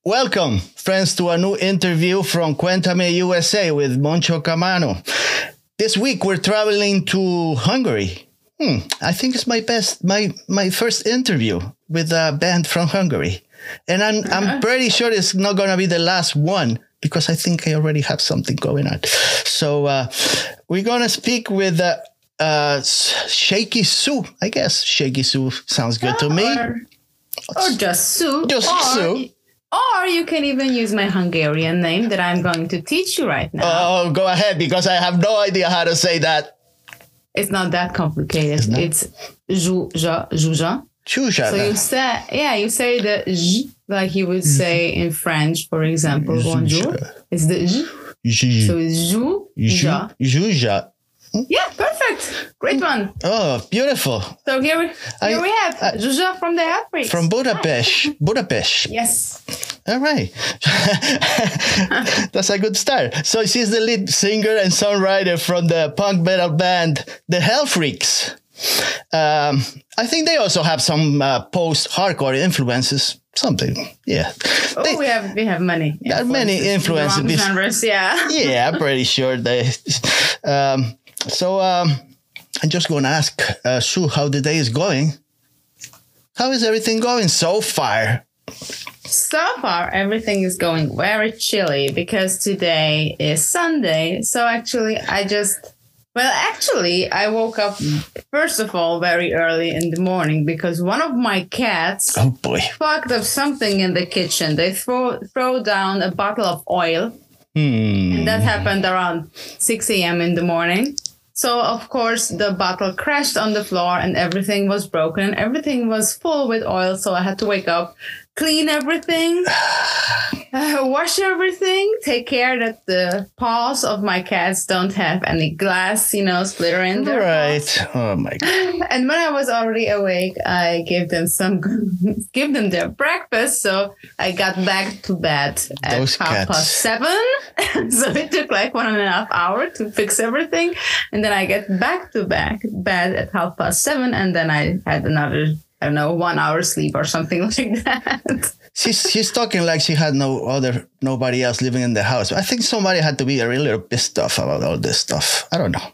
Welcome, friends, to a new interview from Cuéntame USA with Moncho Camano. This week we're traveling to Hungary. I think it's my first interview with a band from Hungary. And I'm pretty sure it's not going to be the last one because I think I already have something going on. So we're going to speak with Shaky Sue. I guess Shaky Sue sounds good to me. Or just Sue. Just Sue. Or you can even use my Hungarian name that I'm going to teach you right now. Oh, go ahead, because I have no idea how to say that. It's not that complicated. It's Zsuzsa. Zsuzsa. So you say the Z like you would say in French, for example, bonjour. It's the Z. So it's Zsuzsa. Zsuzsa. Yeah, perfect. Great one. Oh, beautiful. So here we have Zsuzsa from the Outbreaks. From Budapest. Budapest. Yes. All right. That's a good start. So she's the lead singer and songwriter from the punk metal band, The Hell Freaks. I think they also have some post-hardcore influences. Something, yeah. We have many. There are many influences. Genres, yeah. Yeah, I'm pretty sure they. So I'm just going to ask Sue how the day is going. How is everything going so far? So far, everything is going very chilly because today is Sunday. So actually, I woke up, first of all, very early in the morning because one of my cats fucked up something in the kitchen. They throw down a bottle of oil. And that happened around 6 a.m. in the morning. So, of course, the bottle crashed on the floor and everything was broken. Everything was full with oil. So I had to wake up, clean everything, wash everything, take care that the paws of my cats don't have any glass, splitter in their paws. Oh my God. And when I was already awake, I gave them their breakfast. So I got back to bed at 7:30. So it took like 1.5 hours to fix everything. And then I get back to bed at 7:30. And then I had another 1 hour sleep or something like that. She's talking like she had nobody else living in the house. I think somebody had to be a little pissed off about all this stuff. I don't know.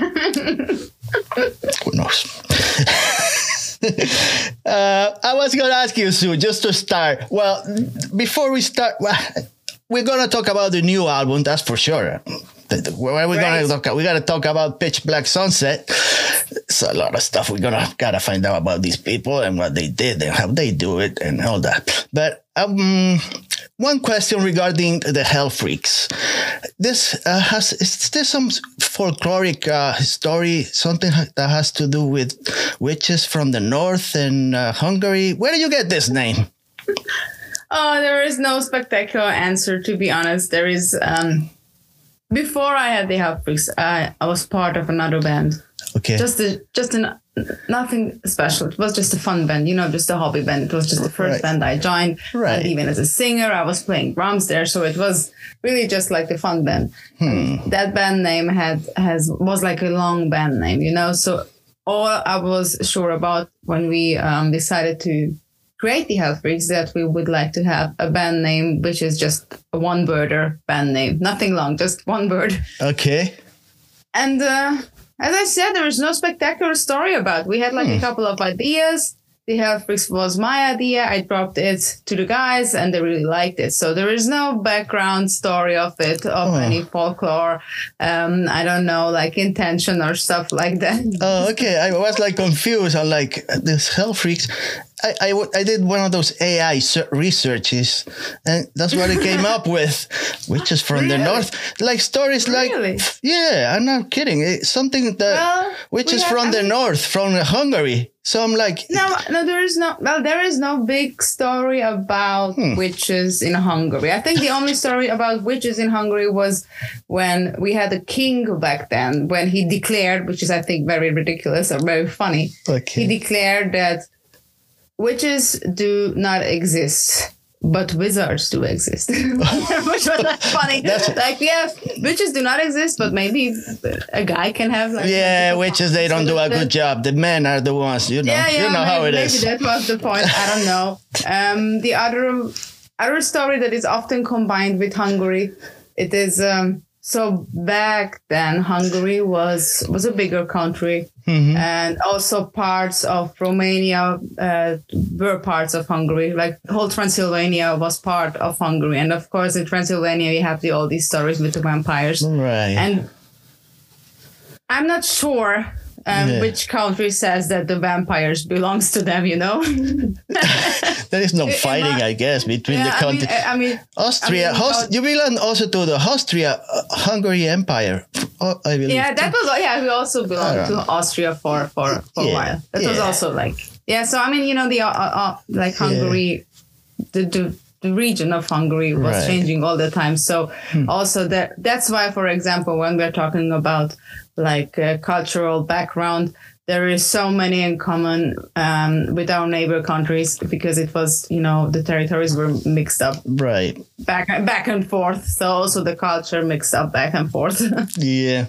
Who knows? I was going to ask you, Sue, just to start. Well, before we start, we're going to talk about the new album, that's for sure. We're gonna talk about Pitch Black Sunset. It's a lot of stuff. We're gotta find out about these people and what they did and how they do it and all that. But one question regarding the Hell Freaks. Is there some folkloric story, something that has to do with witches from the north and Hungary? Where do you get this name? Oh, there is no spectacular answer, to be honest. There is. Before I had the Hell Freaks, I was part of another band. Okay. Nothing special. It was just a fun band, just a hobby band. It was just the first band I joined. Right. And even as a singer, I was playing drums there, so it was really just like a fun band. That band name was like a long band name, So all I was sure about when we decided to create the Hell Freaks that we would like to have a band name which is just a one-worder band name. Nothing long, just one word. Okay. And as I said, there is no spectacular story about it. We had like a couple of ideas. The Hell Freaks was my idea. I dropped it to the guys and they really liked it. So there is no background story of it, any folklore. I don't know, like intention or stuff like that. Oh, okay. I was like confused. I'm like, this Hell Freaks. I did one of those AI researches, and that's what I came up with, which is from the north. Like stories like, yeah, I'm not kidding. It's something that, which is from the north, from Hungary. So I'm like, there is no big story about witches in Hungary. I think the only story about witches in Hungary was when we had a king back then, when he declared, which is I think very ridiculous or very funny. Okay. He declared that witches do not exist, but wizards do exist. Which was like funny. Witches do not exist, but maybe a guy can have witches, they don't do a good job. The men are the ones, you know how it is. Maybe that was the point. I don't know. other story that is often combined with Hungary. It is so back then Hungary was a bigger country, and also parts of Romania were parts of Hungary. Like whole Transylvania was part of Hungary, and of course in Transylvania you have all these stories with the vampires. Right. And I'm not sure which country says that the vampires belongs to them, you know? There is no fighting, I guess, between the countries. I mean, Austria, you belong also to the Austria-Hungary Empire, I believe. Yeah, that was, we also belonged to Austria for a while. That was also like, so I mean, you know, the like Hungary, the region of Hungary was changing all the time. So also that's why, for example, when we're talking about like cultural background, there is so many in common with our neighbor countries, because it was, you know, the territories were mixed up back and forth. So also the culture mixed up back and forth. Yeah.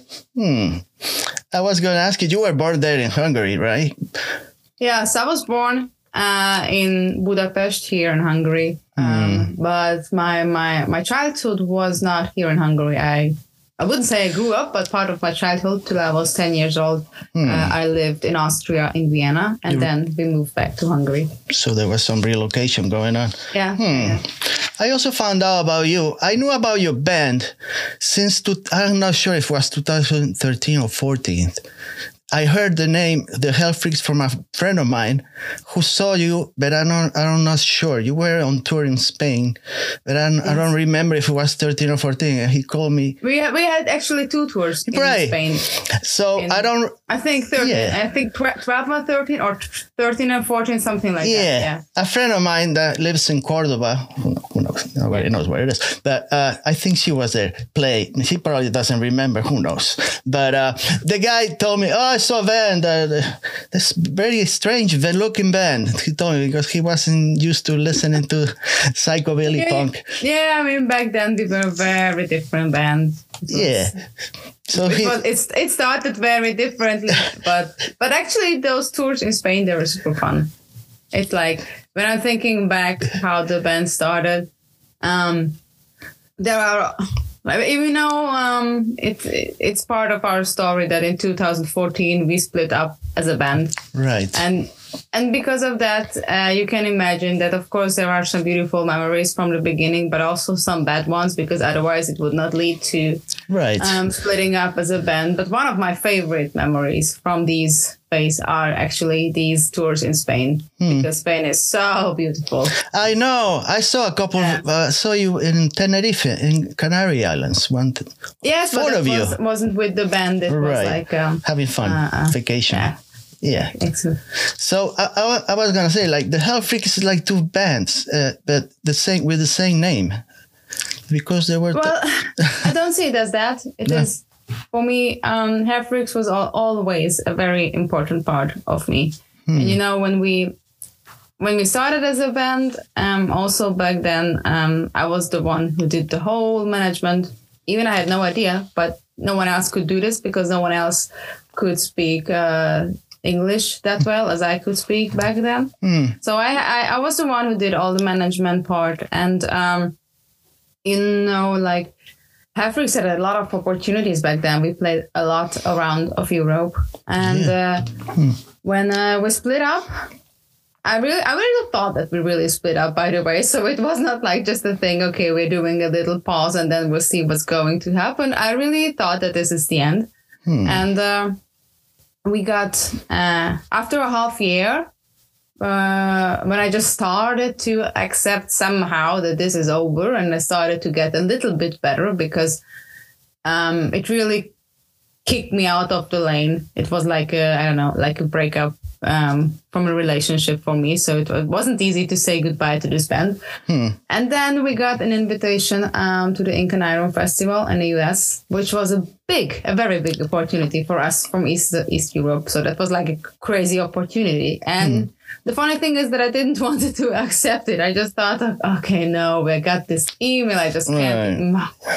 I was going to ask you were born there in Hungary, right? Yes, I was born in Budapest, here in Hungary. But my childhood was not here in Hungary. I wouldn't say I grew up, but part of my childhood till I was 10 years old, I lived in Austria, in Vienna, and then we moved back to Hungary. So there was some relocation going on. Yeah. I also found out about you. I knew about your band since, I'm not sure if it was 2013 or 14. I heard the name, the Hell Freaks, from a friend of mine who saw you, but I'm not sure. You were on tour in Spain, but I don't remember if it was 13 or 14. And he called me. We had actually 2 tours in Spain. So I think 13. Yeah. I think 12 and 13 or 13 and 14, something like that. Yeah. A friend of mine that lives in Cordoba, who knows? Nobody knows where it is. But I think she was there, play. She probably doesn't remember. Who knows? But the guy told me, I saw a band, this very strange looking band. He told me, because he wasn't used to listening to psychobilly punk. Yeah, I mean, back then we were very different bands. So it started very differently, but actually those tours in Spain, they were super fun. It's like, when I'm thinking back how the band started, there are, even though it's part of our story that in 2014 we split up as a band. Right. And because of that, you can imagine that, of course, there are some beautiful memories from the beginning, but also some bad ones, because otherwise it would not lead to splitting up as a band. But one of my favorite memories from these days are actually these tours in Spain, because Spain is so beautiful. I know. I saw a couple. Saw you in Tenerife, in Canary Islands. Yes, but it wasn't with the band. It was like having fun, vacation. Yeah. Excellent. So I was gonna say, like, the Hell Freaks is like 2 bands, but with the same name, because they were. Well, I don't see it as that. It is, for me. Hell Freaks was always a very important part of me, and you know, when we started as a band, also back then, I was the one who did the whole management. Even I had no idea, but no one else could do this, because no one else could speak English that well as I could speak back then. So I was the one who did all the management part. And, you know, like, Hell Freaks had a lot of opportunities back then. We played a lot around of Europe. And when we split up, I really thought that we really split up, by the way. So it was not like just a thing, okay, we're doing a little pause and then we'll see what's going to happen. I really thought that this is the end. And we got, after a half year, when I just started to accept somehow that this is over, and I started to get a little bit better, because it really kicked me out of the lane. It was like a breakup from a relationship for me. So it wasn't easy to say goodbye to this band. And then we got an invitation to the Ink and Iron Festival in the US, which was a very big opportunity for us from East Europe. So that was like a crazy opportunity. And the funny thing is that I didn't want to accept it. I just thought, okay, no, I got this email. I just can't.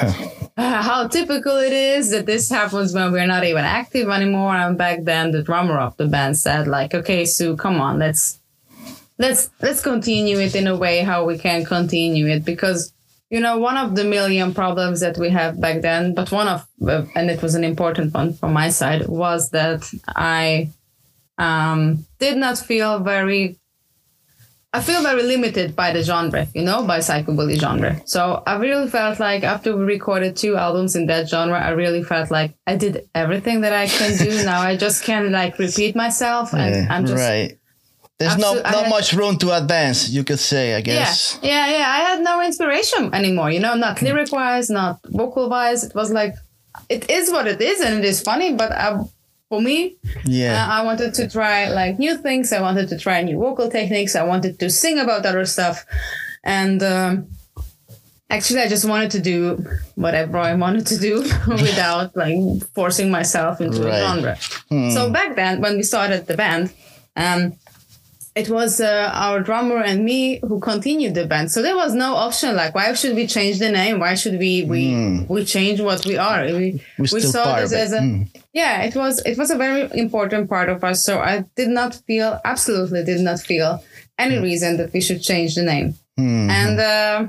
How typical it is that this happens when we're not even active anymore. And back then, the drummer of the band said, like, okay, Sue, come on, let's let's continue it in a way how we can continue it, because one of the million problems that we have back then, but one of and it was an important one from my side, was that I did not feel very limited by the genre, by psychobilly genre. So I really felt like after we recorded 2 albums in that genre, I really felt like I did everything that I can do. Now I just can repeat myself, and I'm just right. There's not much room to advance, you could say, I guess. Yeah. I had no inspiration anymore, not lyric-wise, not vocal-wise. It was like, it is what it is, and it is funny, but for me, I wanted to try new things. I wanted to try new vocal techniques. I wanted to sing about other stuff. And actually, I just wanted to do whatever I wanted to do without forcing myself into a genre. So back then, when we started the band, it was our drummer and me who continued the band. So there was no option why should we change the name? Why should we change what we are? We saw this as it was a very important part of us. So I absolutely did not feel any reason that we should change the name. And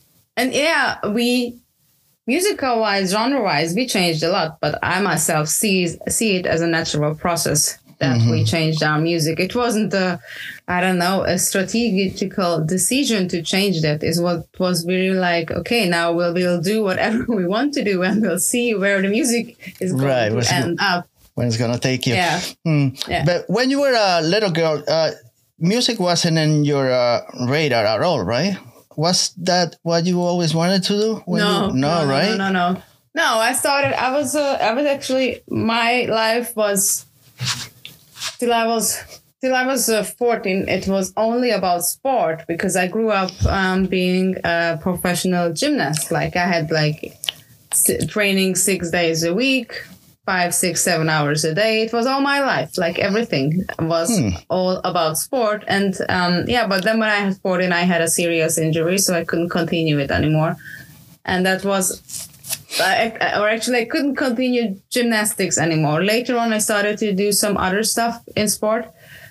we musical wise, genre wise, we changed a lot, but I myself see it as a natural process that we changed our music. It wasn't a strategical decision to change that. Is what was really okay, now we'll do whatever we want to do, and we'll see where the music is going to end up. When it's going to take you. Yeah. But when you were a little girl, music wasn't in your radar at all, right? Was that what you always wanted to do? No, I was actually, my life was, till I was 14, it was only about sport, because I grew up being a professional gymnast. I had training 6 days a week, 5, 6, 7 hours a day. It was all my life. Everything was all about sport. And but then when I was 14, I had a serious injury, so I couldn't continue it anymore. And that was, I couldn't continue gymnastics anymore. Later on, I started to do some other stuff in sport.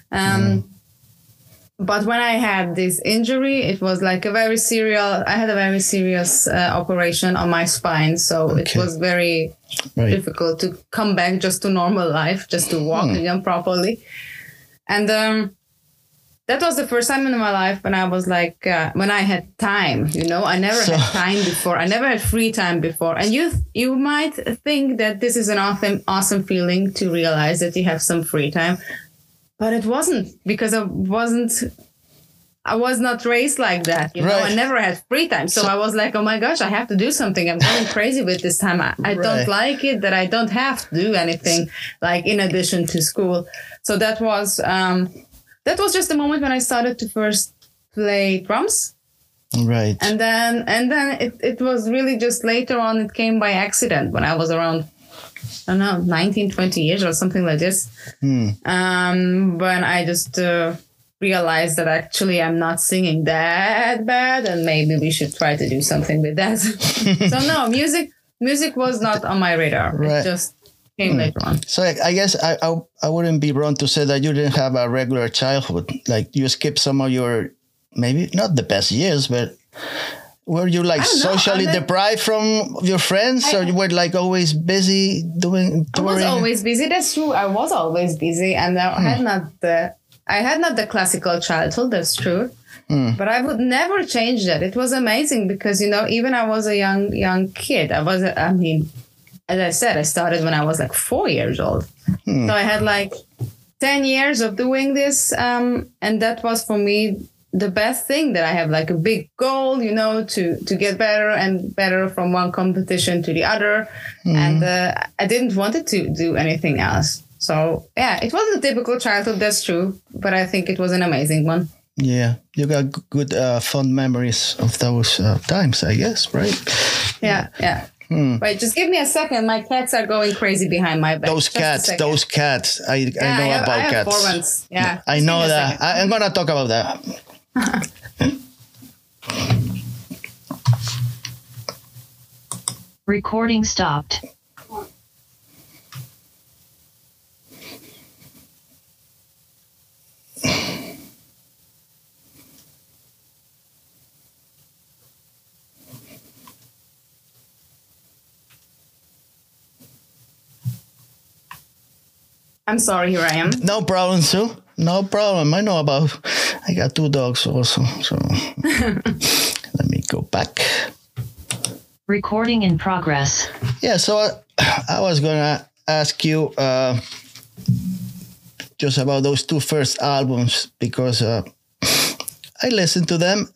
But when I had this injury, it was I had a very serious operation on my spine. So it was very difficult to come back just to normal life, just to walk again properly. And that was the first time in my life when I was when I had time, I never had time before. I never had free time before. And you might think that this is an awesome feeling to realize that you have some free time. But it wasn't, because I was not raised like that. I never had free time. So I was oh my gosh, I have to do something. I'm going crazy with this time. I don't like it that I don't have to do anything in addition to school. So that was just the moment when I started to first play drums. Right. And then it was really just later on, it came by accident when I was around, I don't know, 19, 20 years or something like this. When I just realized that actually I'm not singing that bad, and maybe we should try to do something with that. So no, music was not on my radar. Right. It just came later on. So I guess I wouldn't be wrong to say that you didn't have a regular childhood. You skipped some of your, maybe not the best years, but were you socially deprived from your friends, or you were always busy touring? I was always busy. That's true. I was always busy, and I had not the classical childhood. That's true. But I would never change that. It was amazing because even I was a young kid. As I said, I started when I was 4 years old. So I had 10 years of doing this, and that was for me the best thing, that I have a big goal, to get better and better from one competition to the other. And I didn't want it to do anything else. So, yeah, it wasn't a typical childhood, that's true. But I think it was an amazing one. Yeah, you got good fond memories of those times, I guess, right? Yeah. Wait, just give me a second. My cats are going crazy behind my back. Those cats. I know about I cats. Have 4 months. Yeah, I know that. I'm going to talk about that. Recording stopped. I'm sorry, here I am. No problem, Sue. No problem. I got 2 dogs also. So let me go back. Recording in progress. Yeah, so I was going to ask you just about those 2 first albums because I listened to them.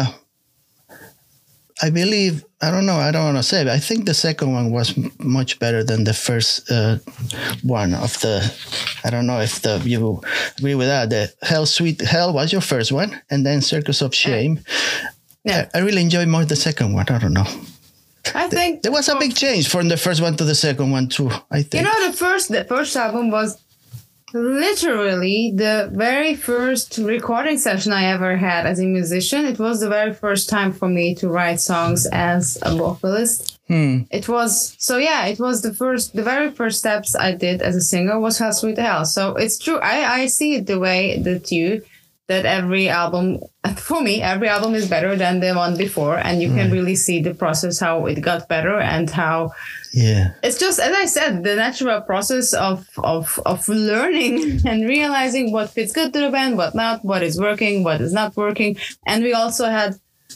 I believe, I don't want to say, but I think the second one was much better than the first one of the, I don't know if you agree with that. The Hell Sweet Hell was your first one, and then Circus of Shame. Yeah. I really enjoyed more the second one. I don't know. I think there was a big change from the first one to the second one too, I think. The first album was literally the very first recording session I ever had as a musician. It was the very first time for me to write songs as a vocalist. It was the very first steps I did as a singer was Hell Sweet Hell. So it's true. I see it the way that every album is better than the one before, and you can really see the process, how it got better and how it's just, as I said, the natural process of learning and realizing what fits good to the band, what not, what is working, what is not working. And we also had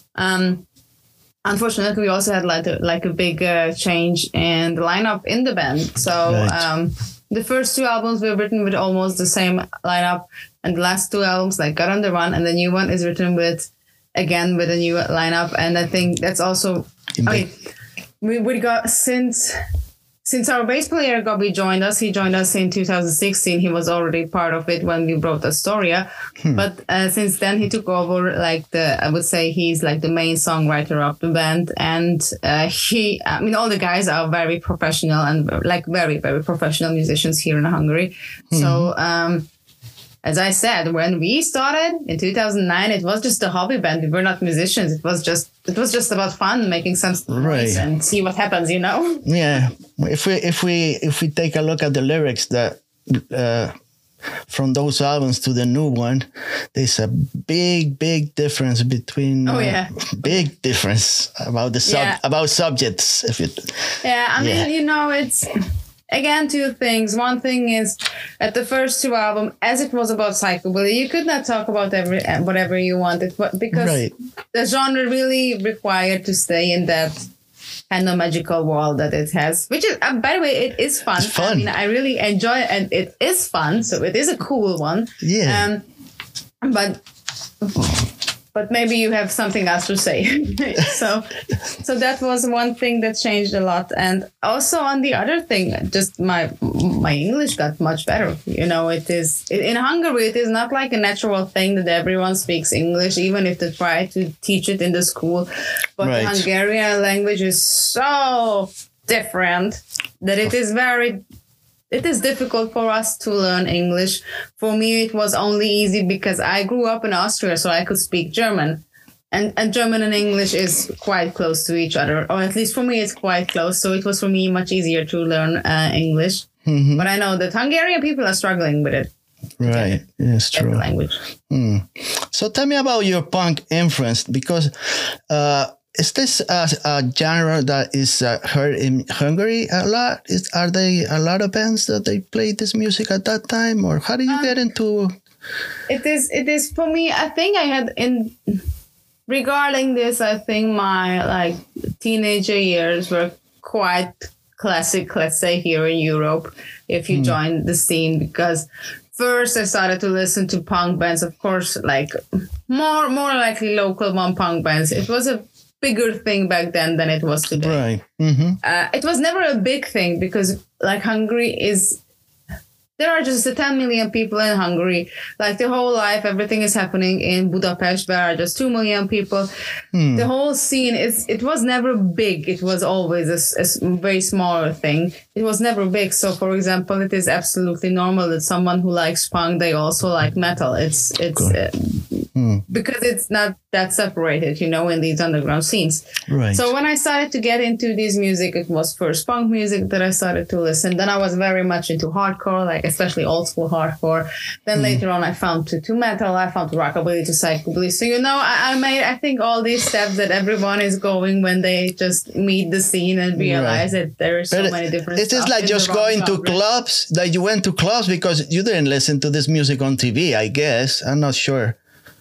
unfortunately we also had like a big change in the lineup in the band. So the first 2 albums were written with almost the same lineup, and the last 2 albums like Got on the Run, and the new one is written with a new lineup. And I think that's also, we got, since our bass player Gobby joined us, he joined us in 2016. He was already part of it when we wrote Astoria. But since then he took over I would say he's like the main songwriter of the band. And all the guys are very professional and like very, very professional musicians here in Hungary. So, as I said, when we started in 2009, it was just a hobby band. We were not musicians. It was just about fun, making some noise and see what happens, Yeah. If we take a look at the lyrics that from those albums to the new one, there's a big difference between. Big difference about about subjects. It's. Again, 2 things. One thing is, at the first 2 albums, as it was about psychobilly, you could not talk about whatever you wanted, because the genre really required to stay in that kind of magical world that it has. Which is, by the way, it is fun. It's fun. I mean, I really enjoy it, and it is fun. So it is a cool one. Yeah. But maybe you have something else to say. So that was one thing that changed a lot. And also on the other thing, just my English got much better. It is in Hungary, it is not like a natural thing that everyone speaks English, even if they try to teach it in the school. But the Hungarian language is so different that it is difficult for us to learn English. For me, it was only easy because I grew up in Austria, so I could speak German. And German and English is quite close to each other, or at least for me, it's quite close. So it was for me much easier to learn English. But I know that Hungarian people are struggling with it. Right. Yes, true. The language. So tell me about your punk influence, because is this a genre that is heard in Hungary a lot? Are there a lot of bands that they play this music at that time, or how do you get into? It is for me. I think I had regarding this. I think my teenager years were quite classic. Let's say here in Europe, if you join the scene, because first I started to listen to punk bands. Of course, like more likely local punk bands. It was a bigger thing back then than it was today. Right. It was never a big thing because Hungary is, there are just 10 million people in Hungary. Like the whole life, everything is happening in Budapest, where are just 2 million people. The whole scene it was never big. It was always a very smaller thing. It was never big. So for example, it is absolutely normal that someone who likes punk, they also like metal. because it's not that separated, in these underground scenes. Right. So when I started to get into this music, it was first punk music that I started to listen. Then I was very much into hardcore, like especially old school hardcore. Then later on, I found to metal, I found to rockabilly, to psychobilly. So, I made, I think, all these steps that everyone is going when they just meet the scene and realize that there are so many different It is like just going to clubs, that you went to clubs because you didn't listen to this music on TV, I guess. I'm not sure.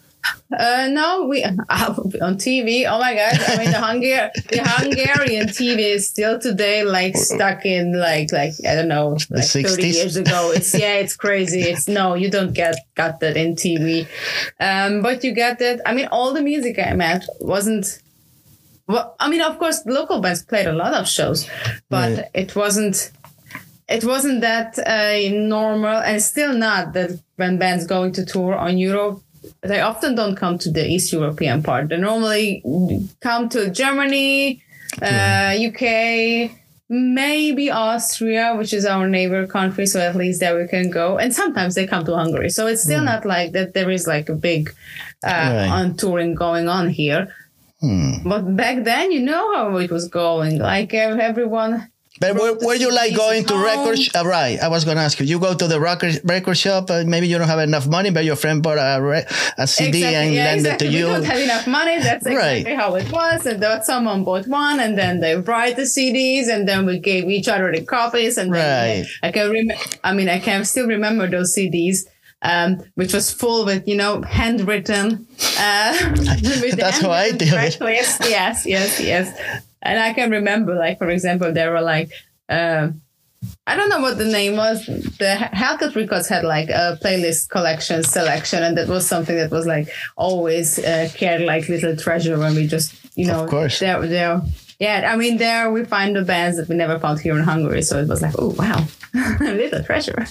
No, we on TV. Oh my God! I mean, the Hungarian TV is still today stuck in like I don't know, the 60s? 30 years ago. It's crazy. You don't got that in TV, but you get that. I mean, all the music I met wasn't. Well, I mean, of course, local bands played a lot of shows, but it wasn't. It wasn't that normal, and still not that when bands going to tour on Europe. They often don't come to the East European part. They normally come to Germany, UK, maybe Austria, which is our neighbor country. So at least there we can go. And sometimes they come to Hungary. So it's still not like that there is like a big on touring going on here. But back then, how it was going. Like everyone... But were you like going to record? Right. I was going to ask you. You go to the record shop. Maybe you don't have enough money, but your friend bought a CD and lent it to you. We don't have enough money. That's exactly how it was. And then someone bought one, and then they write the CDs, and then we gave each other the copies. And then I can still remember those CDs. Which was full with, handwritten. That's how I do it. Yes. And I can remember, like, for example, there were like, I don't know what the name was. The Hellcat Records had like a playlist selection. And that was something that was like always cared like little treasure when we just, of course. There. Yeah, I mean, there we find the bands that we never found here in Hungary. So it was like, oh, wow, little treasure.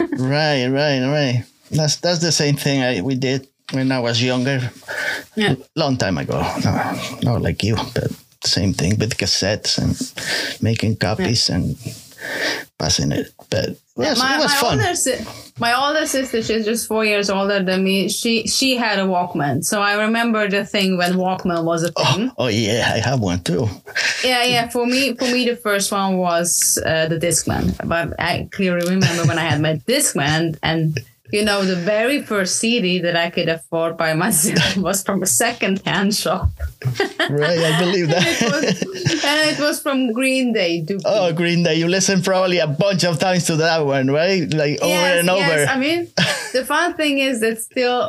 Right. That's the same thing we did when I was younger. Yeah. Long time ago. No, not like you, but same thing with cassettes and making copies and passing it. But it was fun. My older sister, she's just 4 years older than me. She had a Walkman. So I remember the thing when Walkman was a thing. Oh yeah, I have one too. Yeah. For me, the first one was the Discman. But I clearly remember when I had my Discman and the very first CD that I could afford by myself was from a second-hand shop. Right, I believe that. and it was from Green Day. Oh, Green Day. You listened probably a bunch of times to that one, right? Like over and over. Yes, I mean, the fun thing is that still...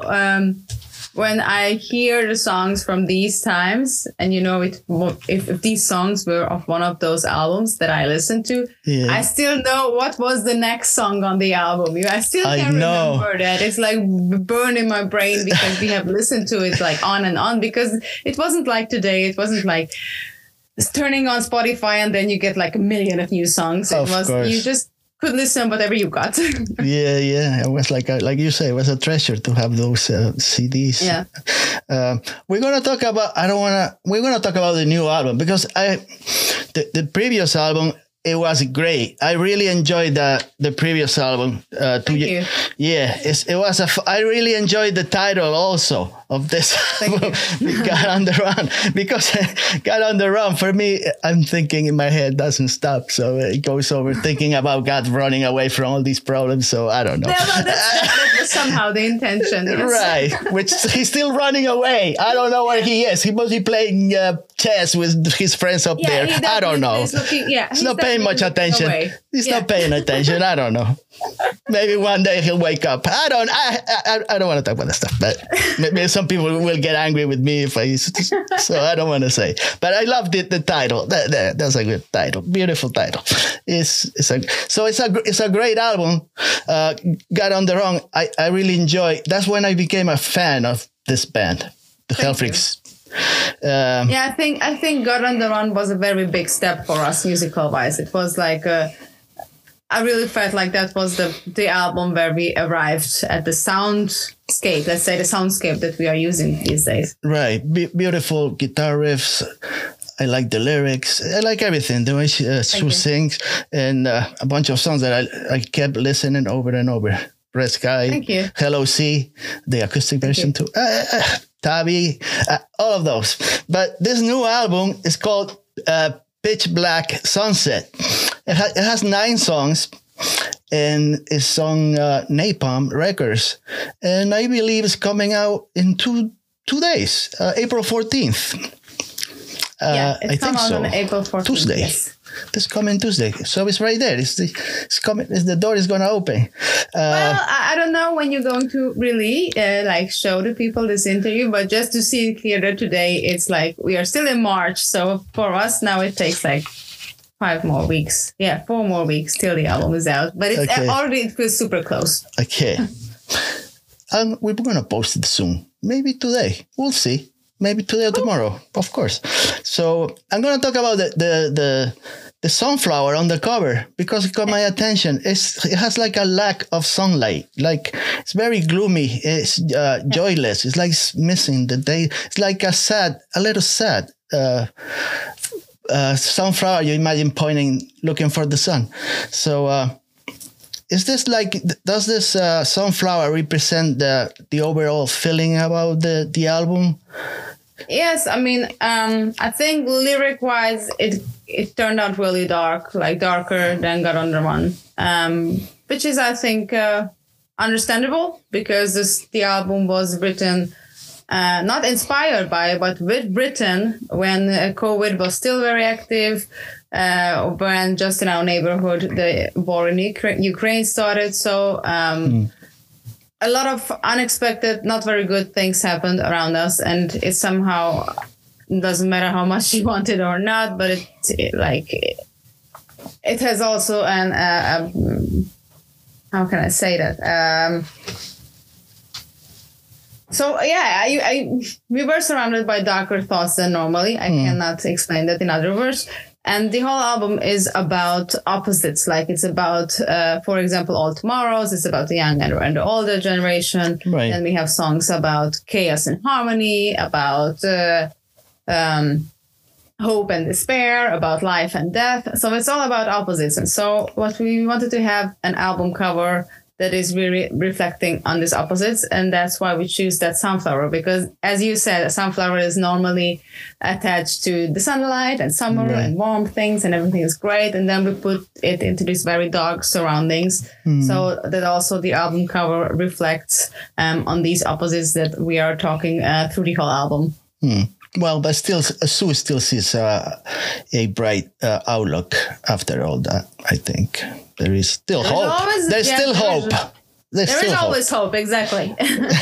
when I hear the songs from these times, and if these songs were of one of those albums that I listened to, I still know what was the next song on the album. I still can remember that. It's like burned in my brain because we have listened to it like on and on, because it wasn't like today. It wasn't like turning on Spotify and then you get like a million of new songs. It was, you just could listen whatever you got. Yeah. It was like you say, it was a treasure to have those CDs. Yeah. We're gonna talk about. We're gonna talk about the new album because the previous album. It was great. I really enjoyed the previous album. Thank you. Yeah, it was I really enjoyed the title also of this album, God on the Run, because God on the Run, for me, I'm thinking in my head doesn't stop. So it goes over thinking about God running away from all these problems. So I don't know. That was somehow the intention. Yes. Right, which he's still running away. I don't know where he is. He must be playing chess with his friends up there. I don't know. He's not paying much attention. He's not paying attention. I don't know. Maybe one day he'll wake up. I don't want to talk about that stuff, but maybe some people will get angry with me if so I don't want to say. But I loved the title. That's a good title. Beautiful title. It's a great album. God on the Run. I really enjoy. That's when I became a fan of this band, the Hellfreaks. I think God on the Run was a very big step for us musical wise. It was like I really felt like that was the album where we arrived at the soundscape, let's say the soundscape that we are using these days. Right. Beautiful guitar riffs. I like the lyrics. I like everything. The way she sings, and a bunch of songs that I kept listening over and over. Red Sky. Thank you. Hello Sea, the acoustic version too. Tabi, all of those. But this new album is called Pitch Black Sunset. It has 9 songs, and it's on Napalm Records. And I believe it's coming out in two days, April 14th. It's coming out on April 14th. Tuesday. Yes. This coming Tuesday. So it's right there. It's coming. The door is going to open. Well, I don't know when you're going to really show the people this interview, but just to see it clearer today, it's like we are still in March. So for us now, it takes like 5 more weeks. Yeah, 4 more weeks till the album is out. But it's already, it feels super close. Okay. We're going to post it soon. Maybe today. We'll see. Maybe today or tomorrow, of course. So I'm going to talk about the sunflower on the cover because it caught my attention. It has like a lack of sunlight. Like it's very gloomy. It's joyless. It's like it's missing the day. It's like a little sad sunflower. You imagine looking for the sun. So is this does this sunflower represent the overall feeling about the album? Yes, I mean, I think lyric-wise, it turned out really dark, like darker than God Under One, which is, I think, understandable because the album was written, not inspired by, but written when COVID was still very active, when just in our neighborhood, the war in Ukraine started. So a lot of unexpected, not very good things happened around us, and it somehow doesn't matter how much you want it or not, but it has also an how can I say that? We were surrounded by darker thoughts than normally. I cannot explain that in other words. And the whole album is about opposites. Like it's about, for example, All Tomorrows. It's about the young and the older generation. Right. And we have songs about chaos and harmony, about hope and despair, about life and death. So it's all about opposites. And so what we wanted to have an album cover that is really reflecting on these opposites. And that's why we choose that sunflower, because as you said, a sunflower is normally attached to the sunlight and summer and warm things and everything is great. And then we put it into these very dark surroundings so that also the album cover reflects on these opposites that we are talking through the whole album. Well, but still, Sue still sees a bright outlook after all that, I think. There is still hope. There's still hope. There is always hope, exactly.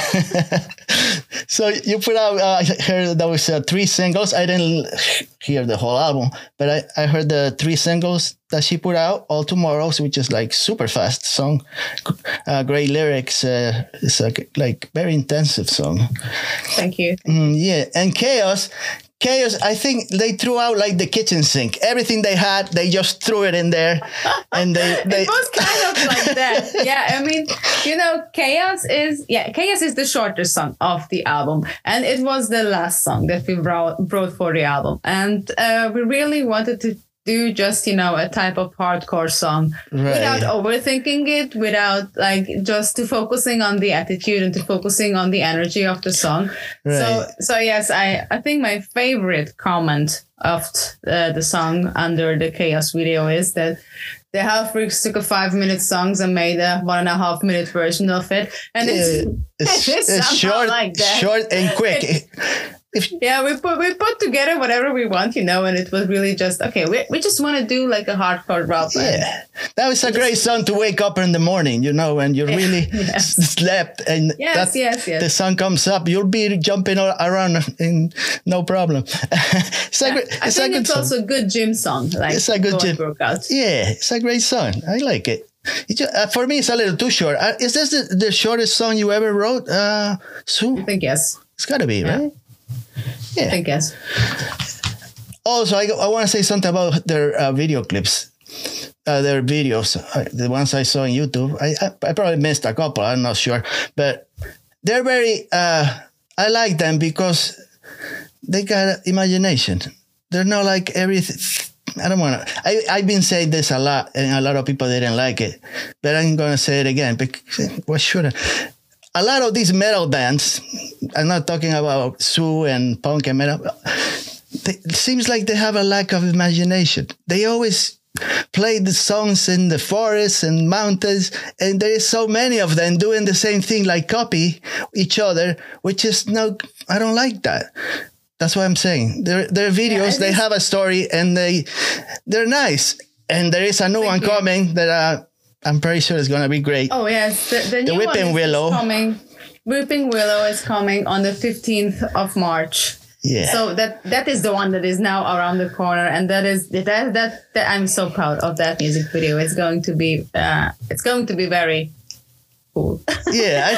So you put out, I heard there was 3 singles. I didn't hear the whole album, but I heard the 3 singles that she put out, All Tomorrows, which is like super fast song. Great lyrics. It's like very intensive song. Thank you. Yeah. And Chaos, I think they threw out like the kitchen sink. Everything they had, they just threw it in there. And it was kind of like that. Yeah, I mean, Chaos is the shortest song of the album. And it was the last song that we brought for the album. And we really wanted to do just, a type of hardcore song without overthinking it, without just to focusing on the attitude and to focusing on the energy of the song. Right. So yes, I think my favorite comment of the song under the Chaos video is that the Health Freaks took a 5-minute song and made a 1.5-minute version of it. And it's short, like that. Short and quick. We put together whatever we want, and it was really just, okay, we just want to do like a hardcore rock. Yeah, that was a great song to wake up in the morning, and you really slept, and the sun comes up, you'll be jumping around in no problem. I think it's also a good gym song. It's a good gym workout. Yeah, it's a great song. I like it. For me, it's a little too short. Is this the shortest song you ever wrote, Sue? I think yes. It's got to be, right? Yeah. I think yes. Also, I want to say something about their video clips, their videos, the ones I saw on YouTube. I probably missed a couple, I'm not sure. But they're very, I like them because they got imagination. They're not like everything. I don't want to. I've been saying this a lot, and a lot of people didn't like it. But I'm going to say it again. Because, what should I? a lot of these metal bands, I'm not talking about Sue and punk and metal, it seems like they have a lack of imagination. They always play the songs in the forests and mountains, and there is so many of them doing the same thing, like copy each other, which is no, I don't like that. That's what I'm saying. Their videos, they have a story, and they're nice. And there is a new one coming that I'm pretty sure is going to be great. Oh yes, the new Weeping Willow is coming. Weeping Willow is coming on the 15th of March. Yeah. So that is the one that is now around the corner, and that I'm so proud of that music video. It's going to be very cool. Yeah,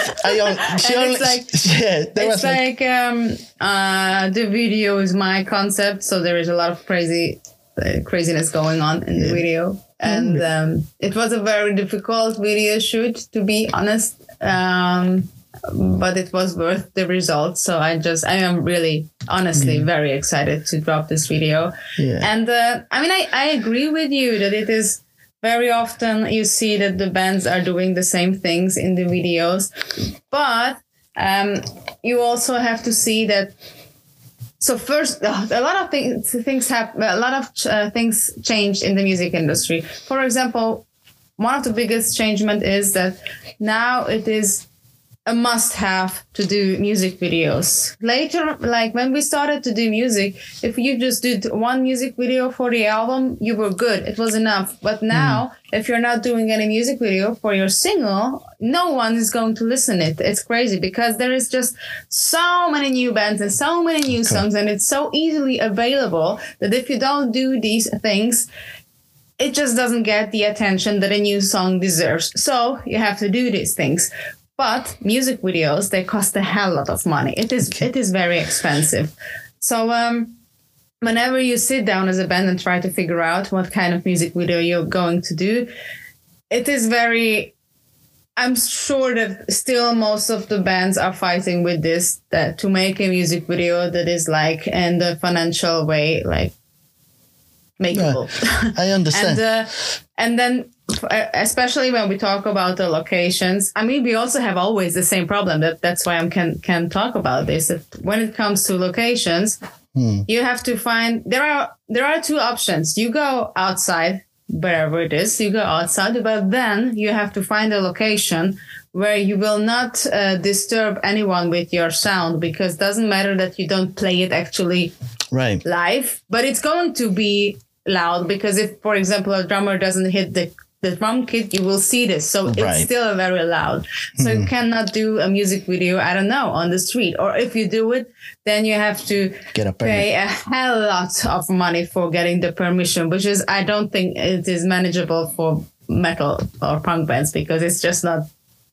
the video is my concept, so there is a lot of craziness going on in the video, and it was a very difficult video shoot, to be honest. But it was worth the results. So I am really, honestly, very excited to drop this video. Yeah. And I agree with you that it is very often you see that the bands are doing the same things in the videos, but you also have to see that. So first, a lot of things happen. A lot of things changed in the music industry. For example, one of the biggest changement is that now it is a must-have to do music videos. Later, like when we started to do music, if you just did one music video for the album, you were good. It was enough. But now, if you're not doing any music video for your single, no one is going to listen it. It's crazy because there is just so many new bands and so many new songs, and it's so easily available that if you don't do these things, it just doesn't get the attention that a new song deserves. So you have to do these things. But music videos, they cost a hell lot of money. It is very expensive. So whenever you sit down as a band and try to figure out what kind of music video you're going to do, it is very, I'm sure that still most of the bands are fighting with this, that to make a music video that is like in the financial way, like makeable. I understand. And then, especially when we talk about the locations, I mean, we also have always the same problem. That's why I can talk about this. That when it comes to locations, you have to find, there are two options. You go outside, wherever it is, you go outside, but then you have to find a location where you will not disturb anyone with your sound, because it doesn't matter that you don't play it actually live, but it's going to be loud, because if, for example, a drummer doesn't hit the drum kit, you will see this. So it's still very loud. So you cannot do a music video, I don't know, on the street. Or if you do it, then you have to pay a hell lot of money for getting the permission, which is, I don't think it is manageable for metal or punk bands, because it's just not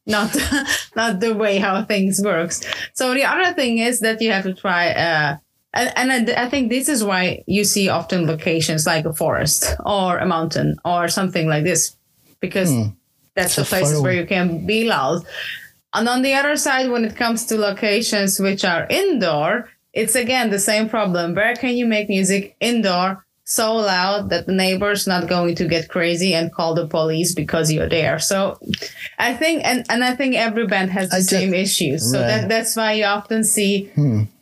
the way how things works. So the other thing is that you have to try and I think this is why you see often locations like a forest or a mountain or something like this, because that's the places where you can be loud. And on the other side, when it comes to locations which are indoor, it's again the same problem. Where can you make music indoor so loud that the neighbor's not going to get crazy and call the police because you're there? So I think, and I think every band has the same issues. So that's why you often see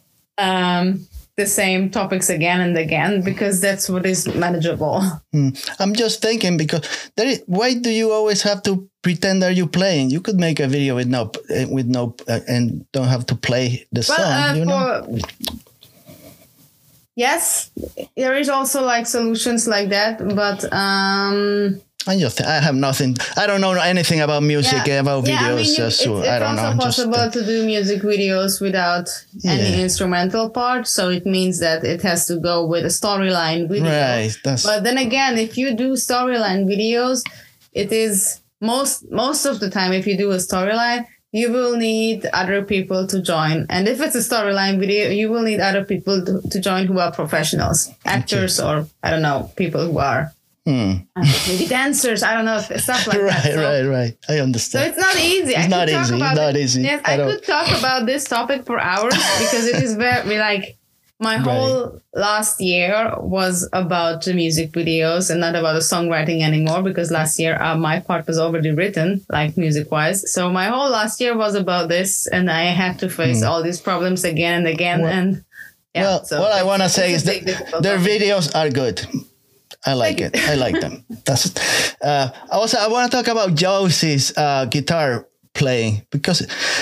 the same topics again and again, because that's what is manageable. I'm just thinking, because why do you always have to pretend that you're playing? You could make a video with no and don't have to play the song. You know? Yes, there is also like solutions like that, but I have nothing. I don't know anything about music, about videos. It's also possible to do music videos without any instrumental part. So it means that it has to go with a storyline video. Right. But then again, if you do storyline videos, it is most of the time, if you do a storyline, you will need other people to join. And if it's a storyline video, you will need other people to join who are professionals, actors, or I don't know, people who are maybe dancers, I don't know, stuff like that. Right. I understand. So it's not easy. It's not easy. Yes, I could talk about this topic for hours because it is very like my whole last year was about the music videos and not about the songwriting anymore, because last year my part was already written, like music wise. So my whole last year was about this, and I had to face all these problems again and again. And yeah, what I want to say is that their videos are good. I like it. I like them. That's also, I want to talk about Josie's guitar playing, because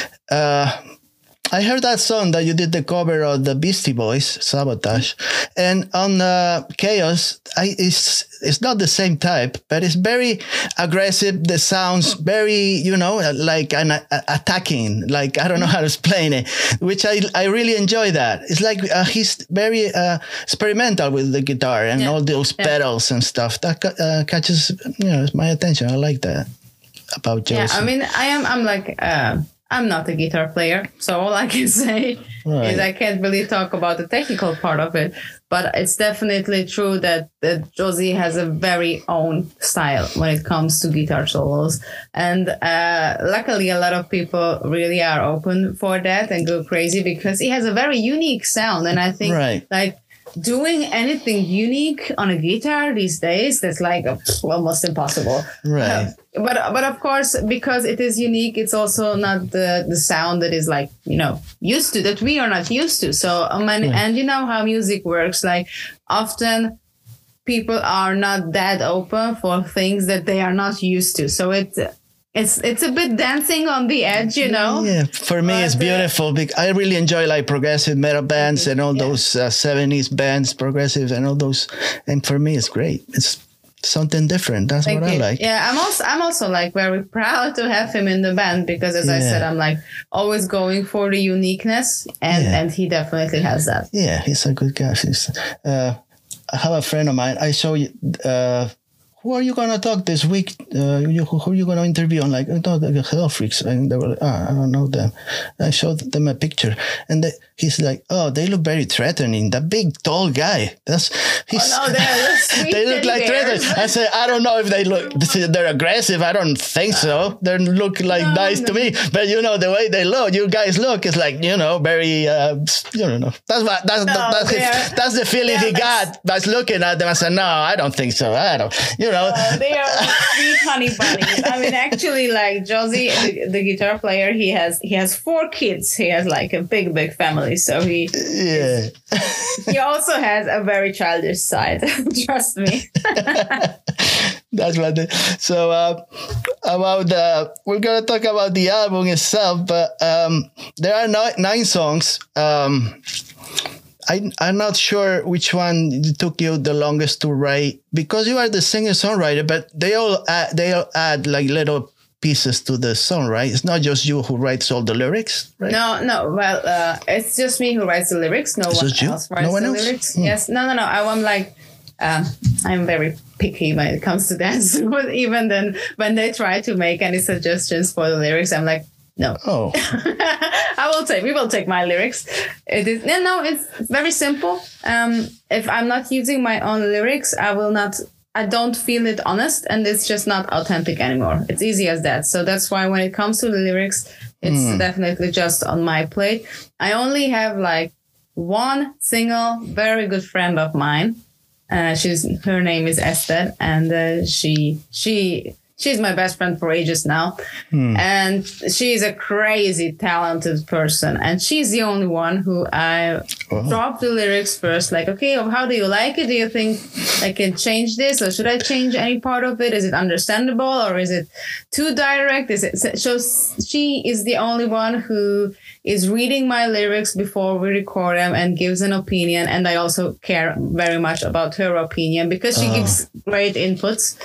I heard that song that you did the cover of the Beastie Boys, Sabotage, and on Chaos, it's not the same type, but it's very aggressive. The sounds very, like an attacking, like, I don't know how to explain it, which I really enjoy that. It's like he's very experimental with the guitar and all those pedals and stuff. That catches my attention. I like that about Josie. Yeah, I mean, I'm like... I'm not a guitar player, so all I can say is I can't really talk about the technical part of it. But it's definitely true that Josie has a very own style when it comes to guitar solos. And luckily, a lot of people really are open for that and go crazy, because he has a very unique sound. And I think like doing anything unique on a guitar these days, that's like almost impossible. Right. But of course, because it is unique, it's also not the sound that is like, used to, that we are not used to. So, and you know how music works, like often people are not that open for things that they are not used to. So it's a bit dancing on the edge, Yeah, for me, it's beautiful. I really enjoy like progressive metal bands and all those 70s bands, progressive and all those. And for me, it's great. It's something different. That's what I like. Yeah, I'm also like very proud to have him in the band, because as I said, I'm like always going for the uniqueness, and he definitely has that. Yeah, he's a good guy. I have a friend of mine. I show you. Who are you going to talk this week? Who are you going to interview? I'm like, the Hell Freaks. And they were like, I don't know them. I showed them a picture. And he's like, oh, they look very threatening. That big, tall guy. They're sweet. They look like threatening. I said, I don't know if they're aggressive. I don't think so. They look like nice to me. But, the way they look, you guys look, it's like, very, That's the feeling he got by looking at them. I said, no, I don't think so. I don't, they are sweet honey bunnies. I mean, actually, like Josie, the guitar player, he has 4 kids. He has like a big family. So he also has a very childish side. Trust me. That's what. So we're gonna talk about the album itself, but there are 9 songs. I'm not sure which one took you the longest to write, because you are the singer-songwriter, but they all add like little pieces to the song, right? It's not just you who writes all the lyrics, right? No. Well, it's just me who writes the lyrics. No one else writes the lyrics. Yes. No. I'm like, I'm very picky when it comes to that. But even then, when they try to make any suggestions for the lyrics, I'm like, no. Oh. We will take my lyrics. It's very simple. If I'm not using my own lyrics, I don't feel it honest, and it's just not authentic anymore. It's easy as that. So that's why when it comes to the lyrics, it's definitely just on my plate. I only have like one single, very good friend of mine. Her name is Esther, and she's my best friend for ages now. And she's a crazy talented person. And she's the only one who I dropped the lyrics first. Like, okay, how do you like it? Do you think I can change this? Or should I change any part of it? Is it understandable? Or is it too direct? So she is the only one who is reading my lyrics before we record them and gives an opinion. And I also care very much about her opinion, because she gives great inputs.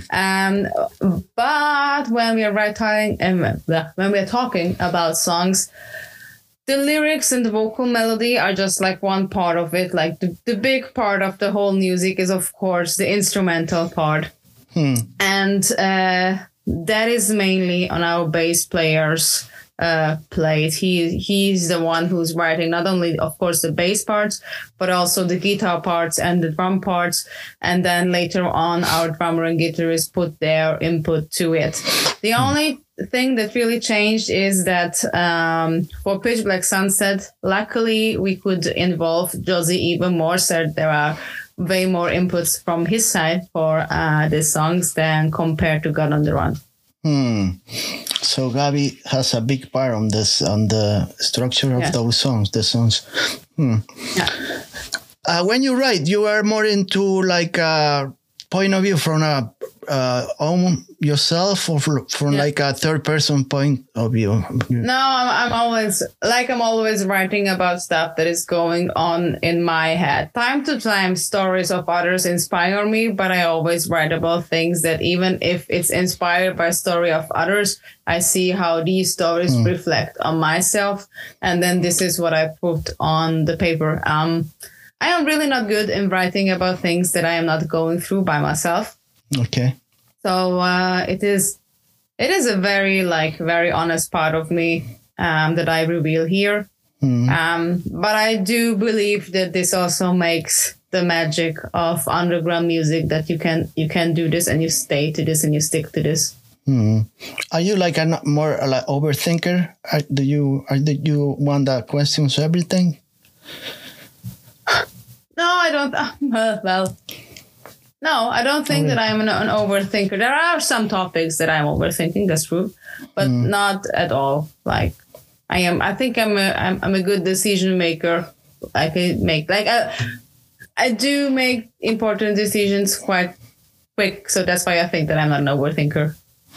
But when we are talking about songs, the lyrics and the vocal melody are just like one part of it. Like the big part of the whole music is, of course, the instrumental part. And that is mainly on our bass player's play it. He's the one who's writing not only, of course, the bass parts, but also the guitar parts and the drum parts. And then later on, our drummer and guitarist put their input to it. The only thing that really changed is that for Pitch Black Sunset, luckily we could involve Josie even more. So there are way more inputs from his side for the songs than compared to God on the Run. So Gabi has a big part on this, on the structure of those songs, the songs. Yeah. When you write, you are more into like a point of view from a own yourself, or from like a third person point of view? No, I'm always writing about stuff that is going on in my head. Time to time, stories of others inspire me, but I always write about things that, even if it's inspired by story of others, I see how these stories reflect on myself, and then this is what I put on the paper. I am really not good in writing about things that I am not going through by myself. Okay. So it is a very honest part of me that I reveal here. But I do believe that this also makes the magic of underground music, that you can do this and you stay to this and you stick to this. Are you like a more like overthinker? Do you want to question everything? No, I don't. No, I don't think that I'm an overthinker. There are some topics that I'm overthinking. That's true, but not at all. Like I think I'm a good decision maker. I do make important decisions quite quick, so that's why I think that I'm not an overthinker.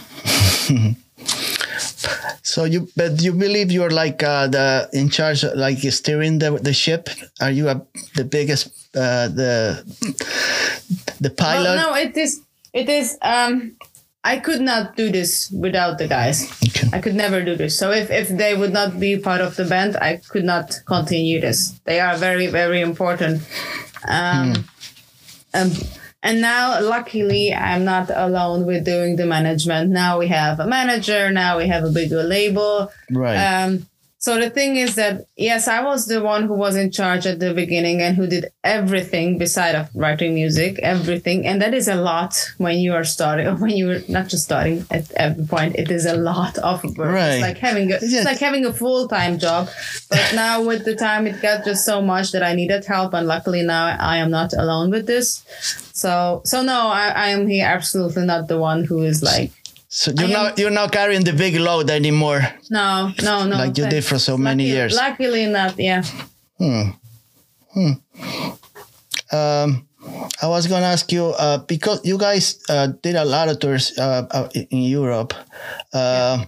So you believe you're like in charge, like steering the ship? Are you the biggest the pilot? Well, no, it is. I could not do this without the guys. Okay. I could never do this. So if they would not be part of the band, I could not continue this. They are very, very important. And now, luckily, I'm not alone with doing the management. Now we have a manager. Now we have a bigger label. Right. So the thing is that, yes, I was the one who was in charge at the beginning and who did everything beside of writing music, everything. And that is a lot when you are starting, or when you're not just starting at every point. It is a lot of work. Right. It's like having a full-time job. But now with the time, it got just so much that I needed help. And luckily now I am not alone with this. So no, I am here absolutely not the one who is like. So you're not carrying the big load anymore. No. Like you did for so many years. Luckily not, yeah. I was gonna ask you because you guys did a lot of tours in Europe. I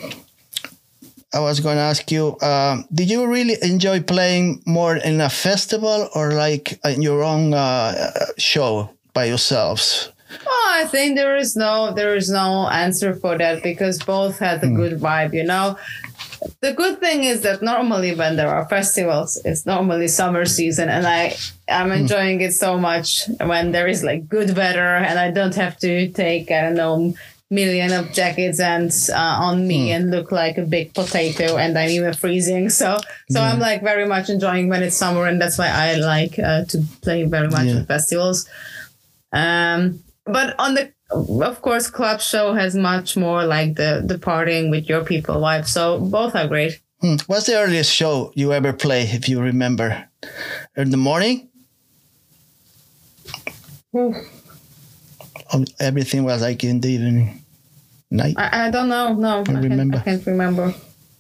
was gonna ask you, did you really enjoy playing more in a festival or like in your own show by yourselves? Oh, I think there is no answer for that, because both had a good vibe, you know. The good thing is that normally when there are festivals, it's normally summer season, and I'm enjoying it so much when there is like good weather and I don't have to take, I don't know, million of jackets and on me and look like a big potato, and I'm even freezing. So I'm like very much enjoying when it's summer, and that's why I like to play very much at festivals. But of course, club show has much more like the partying with your people vibe. So both are great. What's the earliest show you ever play, if you remember? In the morning? Everything was like in the evening, night? I don't know. No, I can't remember.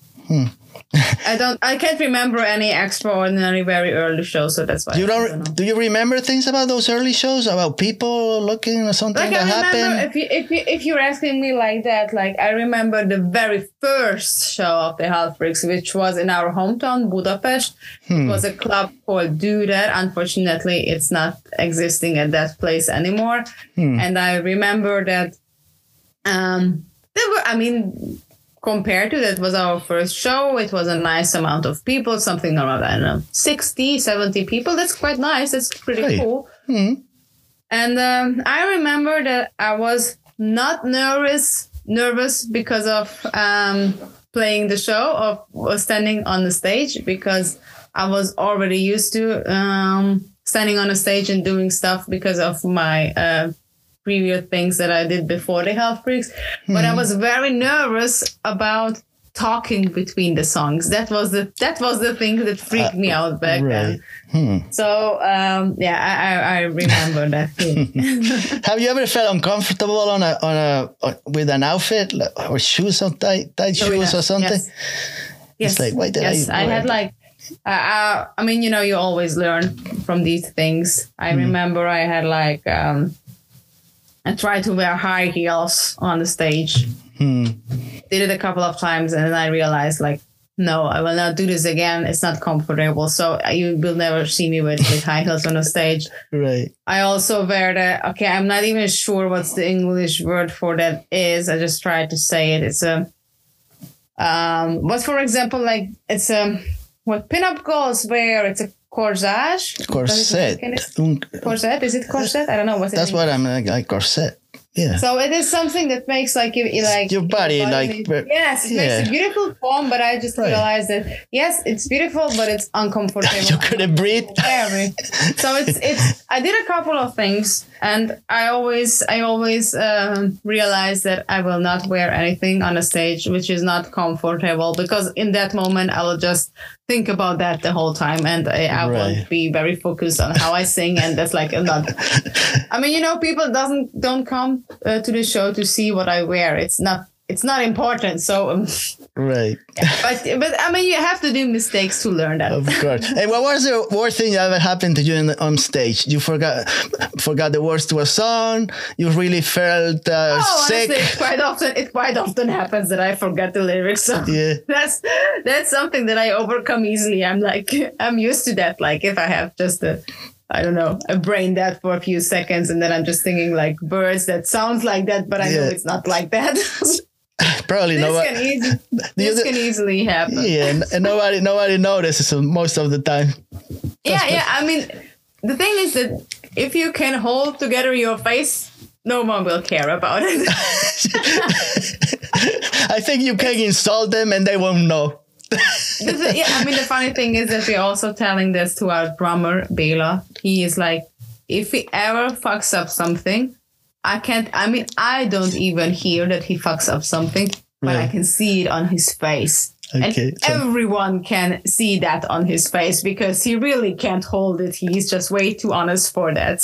I can't remember any extraordinary very early shows, so that's why do you remember things about those early shows, about people looking or something like that happened? If you're asking me like that, like I remember the very first show of the Half Freaks, which was in our hometown Budapest. It was a club called Do That. Unfortunately, it's not existing at that place anymore. And I remember that compared to that was our first show. It was a nice amount of people, something around, I don't know, 60, 70 people. That's quite nice. That's pretty cool. And I remember that I was not nervous because of playing the show or standing on the stage, because I was already used to standing on a stage and doing stuff because of my previous things that I did before the Health Freaks. But I was very nervous about talking between the songs. That was the thing that freaked me out back then. So I remember that thing. Have you ever felt uncomfortable with an outfit or shoes or tight shoes or something? Yes. It's like, why did I had like I mean, you always learn from these things. I remember I had like I tried to wear high heels on the stage. Did it a couple of times, and then I realized, like, no, I will not do this again. It's not comfortable. So you will never see me with high heels on the stage. Right. I also wear I'm not even sure what's the English word for that is. I just tried to say it. It's but for example, like, it's what pinup girls wear. It's a corsage. Corset. Corset? Is it corset? I don't know. That's what I'm like, corset. Yeah. So it is something that makes like your body like yes, it makes a beautiful form, but I just realized that yes, it's beautiful, but it's uncomfortable. You couldn't breathe. So it's I did a couple of things, and I always realized that I will not wear anything on a stage which is not comfortable, because in that moment I will just think about that the whole time, and I won't be very focused on how I sing, and that's like not. I mean, people don't come to the show to see what I wear. It's not important. So right. But I mean, you have to do mistakes to learn that. Of course. Hey, what was the worst thing that ever happened to you on stage? You forgot the words to a song. You really felt sick. Honestly, it quite often happens that I forget the lyrics. So that's something that I overcome easily. I'm used to that. Like, if I have just a brain dead for a few seconds, and then I'm just thinking like birds that sounds like that, but I know it's not like that. Probably this can easily happen. Yeah, and nobody notices most of the time. Yeah. I mean, the thing is that if you can hold together your face, no one will care about it. I think you can insult them and they won't know. I mean, the funny thing is that we're also telling this to our drummer, Bela. He is like, if he ever fucks up something, I don't even hear that he fucks up something, but I can see it on his face. Okay, and everyone can see that on his face, because he really can't hold it. He's just way too honest for that.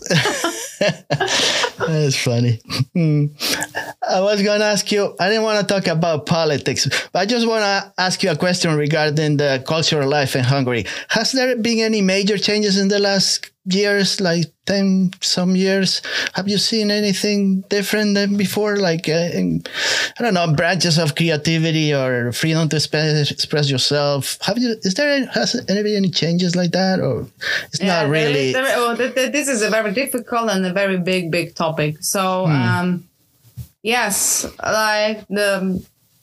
That's funny. I was going to ask you, I didn't want to talk about politics, but I just want to ask you a question regarding the cultural life in Hungary. Has there been any major changes in the last years, like 10 some years? Have you seen anything different than before? Like, I don't know, branches of creativity or freedom to express yourself. Has there been any changes like that? Or it's not really? This is a very difficult and a very big topic. So, yes, like the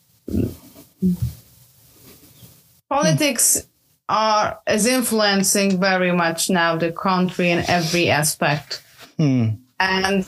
politics is influencing very much now the country in every aspect, and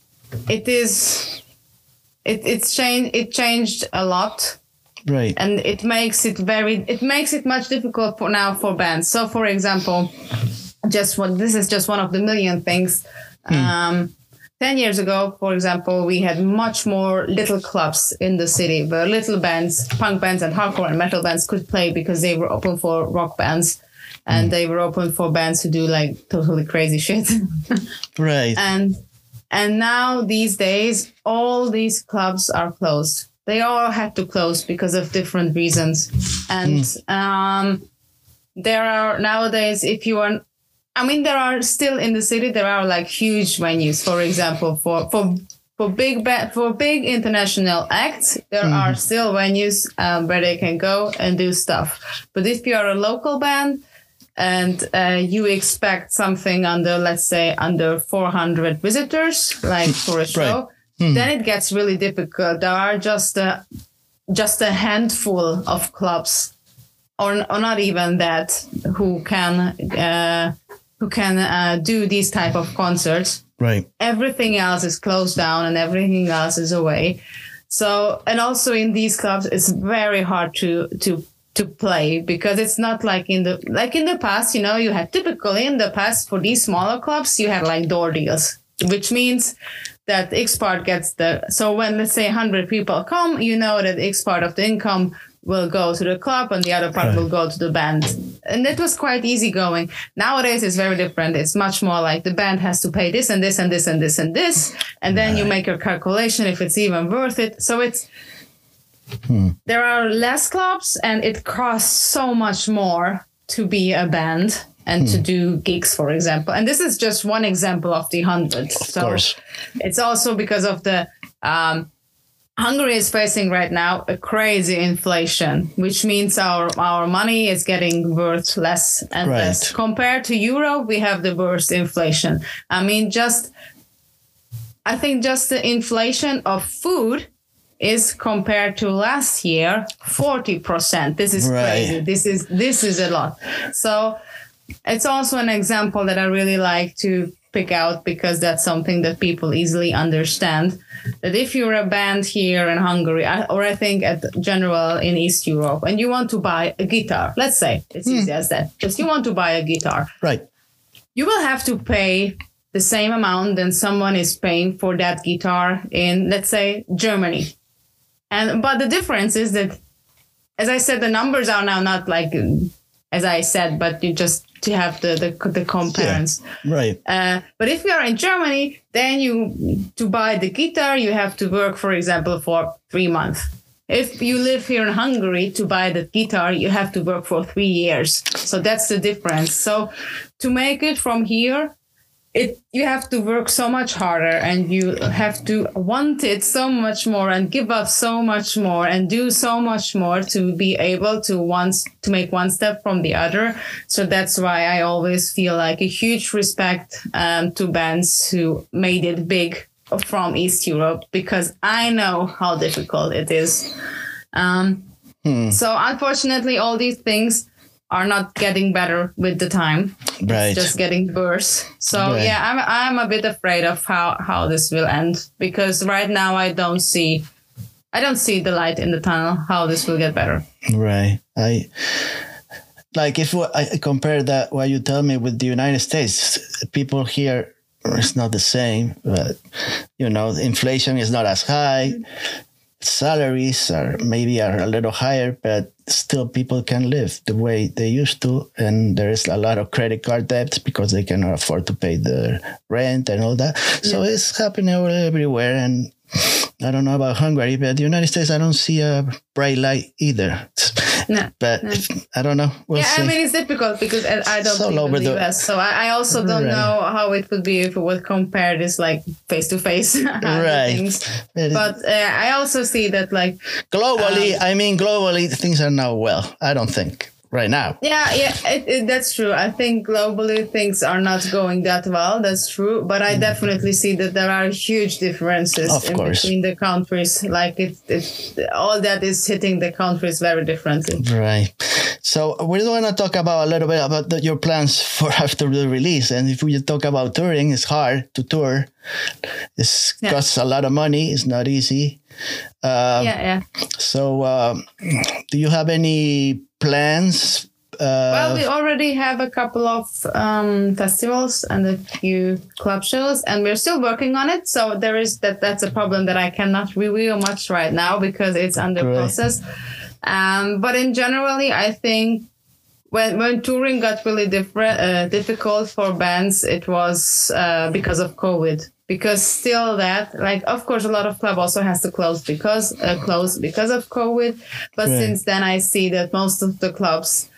it changed a lot, right? And it makes it much difficult for bands. So, for example, this is just one of the million things. 10 years ago, for example, we had much more little clubs in the city where little bands, punk bands and hardcore and metal bands could play, because they were open for rock bands and they were open for bands who do like totally crazy shit. Right. And now these days, all these clubs are closed. They all had to close because of different reasons. And there are nowadays, there are still in the city, there are like huge venues, for example, for big international acts, there are still venues where they can go and do stuff. But if you are a local band and you expect something let's say under 400 visitors, like for a show, then it gets really difficult. There are just a handful of clubs, or not even that, who can do these type of concerts. Right. Everything else is closed down and everything else is away. So, and also in these clubs, it's very hard to play because it's not like in the past, you know, you had typically in the past for these smaller clubs, you had like door deals, which means that X part gets so when let's say 100 people come, you know that X part of the income will go to the club and the other part will go to the band. And it was quite easy going. Nowadays, it's very different. It's much more like the band has to pay this and this and this and this and this. And then you make your calculation if it's even worth it. So there are less clubs and it costs so much more to be a band and to do gigs, for example. And this is just one example of the hundreds. Of course. It's also because of the Hungary is facing right now a crazy inflation, which means our money is getting worth less and less. Compared to Europe, we have the worst inflation. I mean, I think just the inflation of food is compared to last year 40%. This is crazy. This is a lot. So it's also an example that I really like to pick out because that's something that people easily understand. That if you're a band here in Hungary, or I think at general in East Europe, and you want to buy a guitar, let's say it's easy as that. Just you want to buy a guitar, right? You will have to pay the same amount than someone is paying for that guitar in, let's say, Germany. But the difference is that, as I said, the numbers are now not like, as I said, but you just to have the comparison. Yeah, right. But if you are in Germany, then to buy the guitar, you have to work, for example, for 3 months. If you live here in Hungary, to buy the guitar, you have to work for 3 years. So that's the difference. So to make it from here, you have to work so much harder and you have to want it so much more and give up so much more and do so much more to be able to make one step from the other. So that's why I always feel like a huge respect to bands who made it big from East Europe, because I know how difficult it is. So unfortunately, all these things are not getting better with the time. Right. It's just getting worse. So I'm a bit afraid of how this will end, because right now I don't see the light in the tunnel, how this will get better. Right. If I compare that, what you tell me with the United States, people here, it's not the same, but inflation is not as high. Salaries are a little higher, but still people can live the way they used to. And there is a lot of credit card debts because they cannot afford to pay the rent and all that. Yeah. So it's happening everywhere. And I don't know about Hungary, but the United States, I don't see a bright light either. No. I don't know. We'll see. I mean, it's difficult because I don't live in the US. So I also don't know how it would be if we would compare this like face to face. Things. But I also see that like globally, things are now well. I don't think. Right now. Yeah, that's true. I think globally things are not going that well. That's true. But I definitely see that there are huge differences between the countries. Like it's all that is hitting the countries very differently. Right. So we want to talk a little bit about your plans for after the release. And if we talk about touring, it's hard to tour. It costs a lot of money. It's not easy. So do you have any plans? Well, we already have a couple of festivals and a few club shows, and we're still working on it. So there is that's a problem that I cannot reveal much right now because it's under process. But in generally, I think when touring got really difficult for bands, it was because of COVID. Because still of course, a lot of club also has to close because of COVID. But since then, I see that most of the clubs,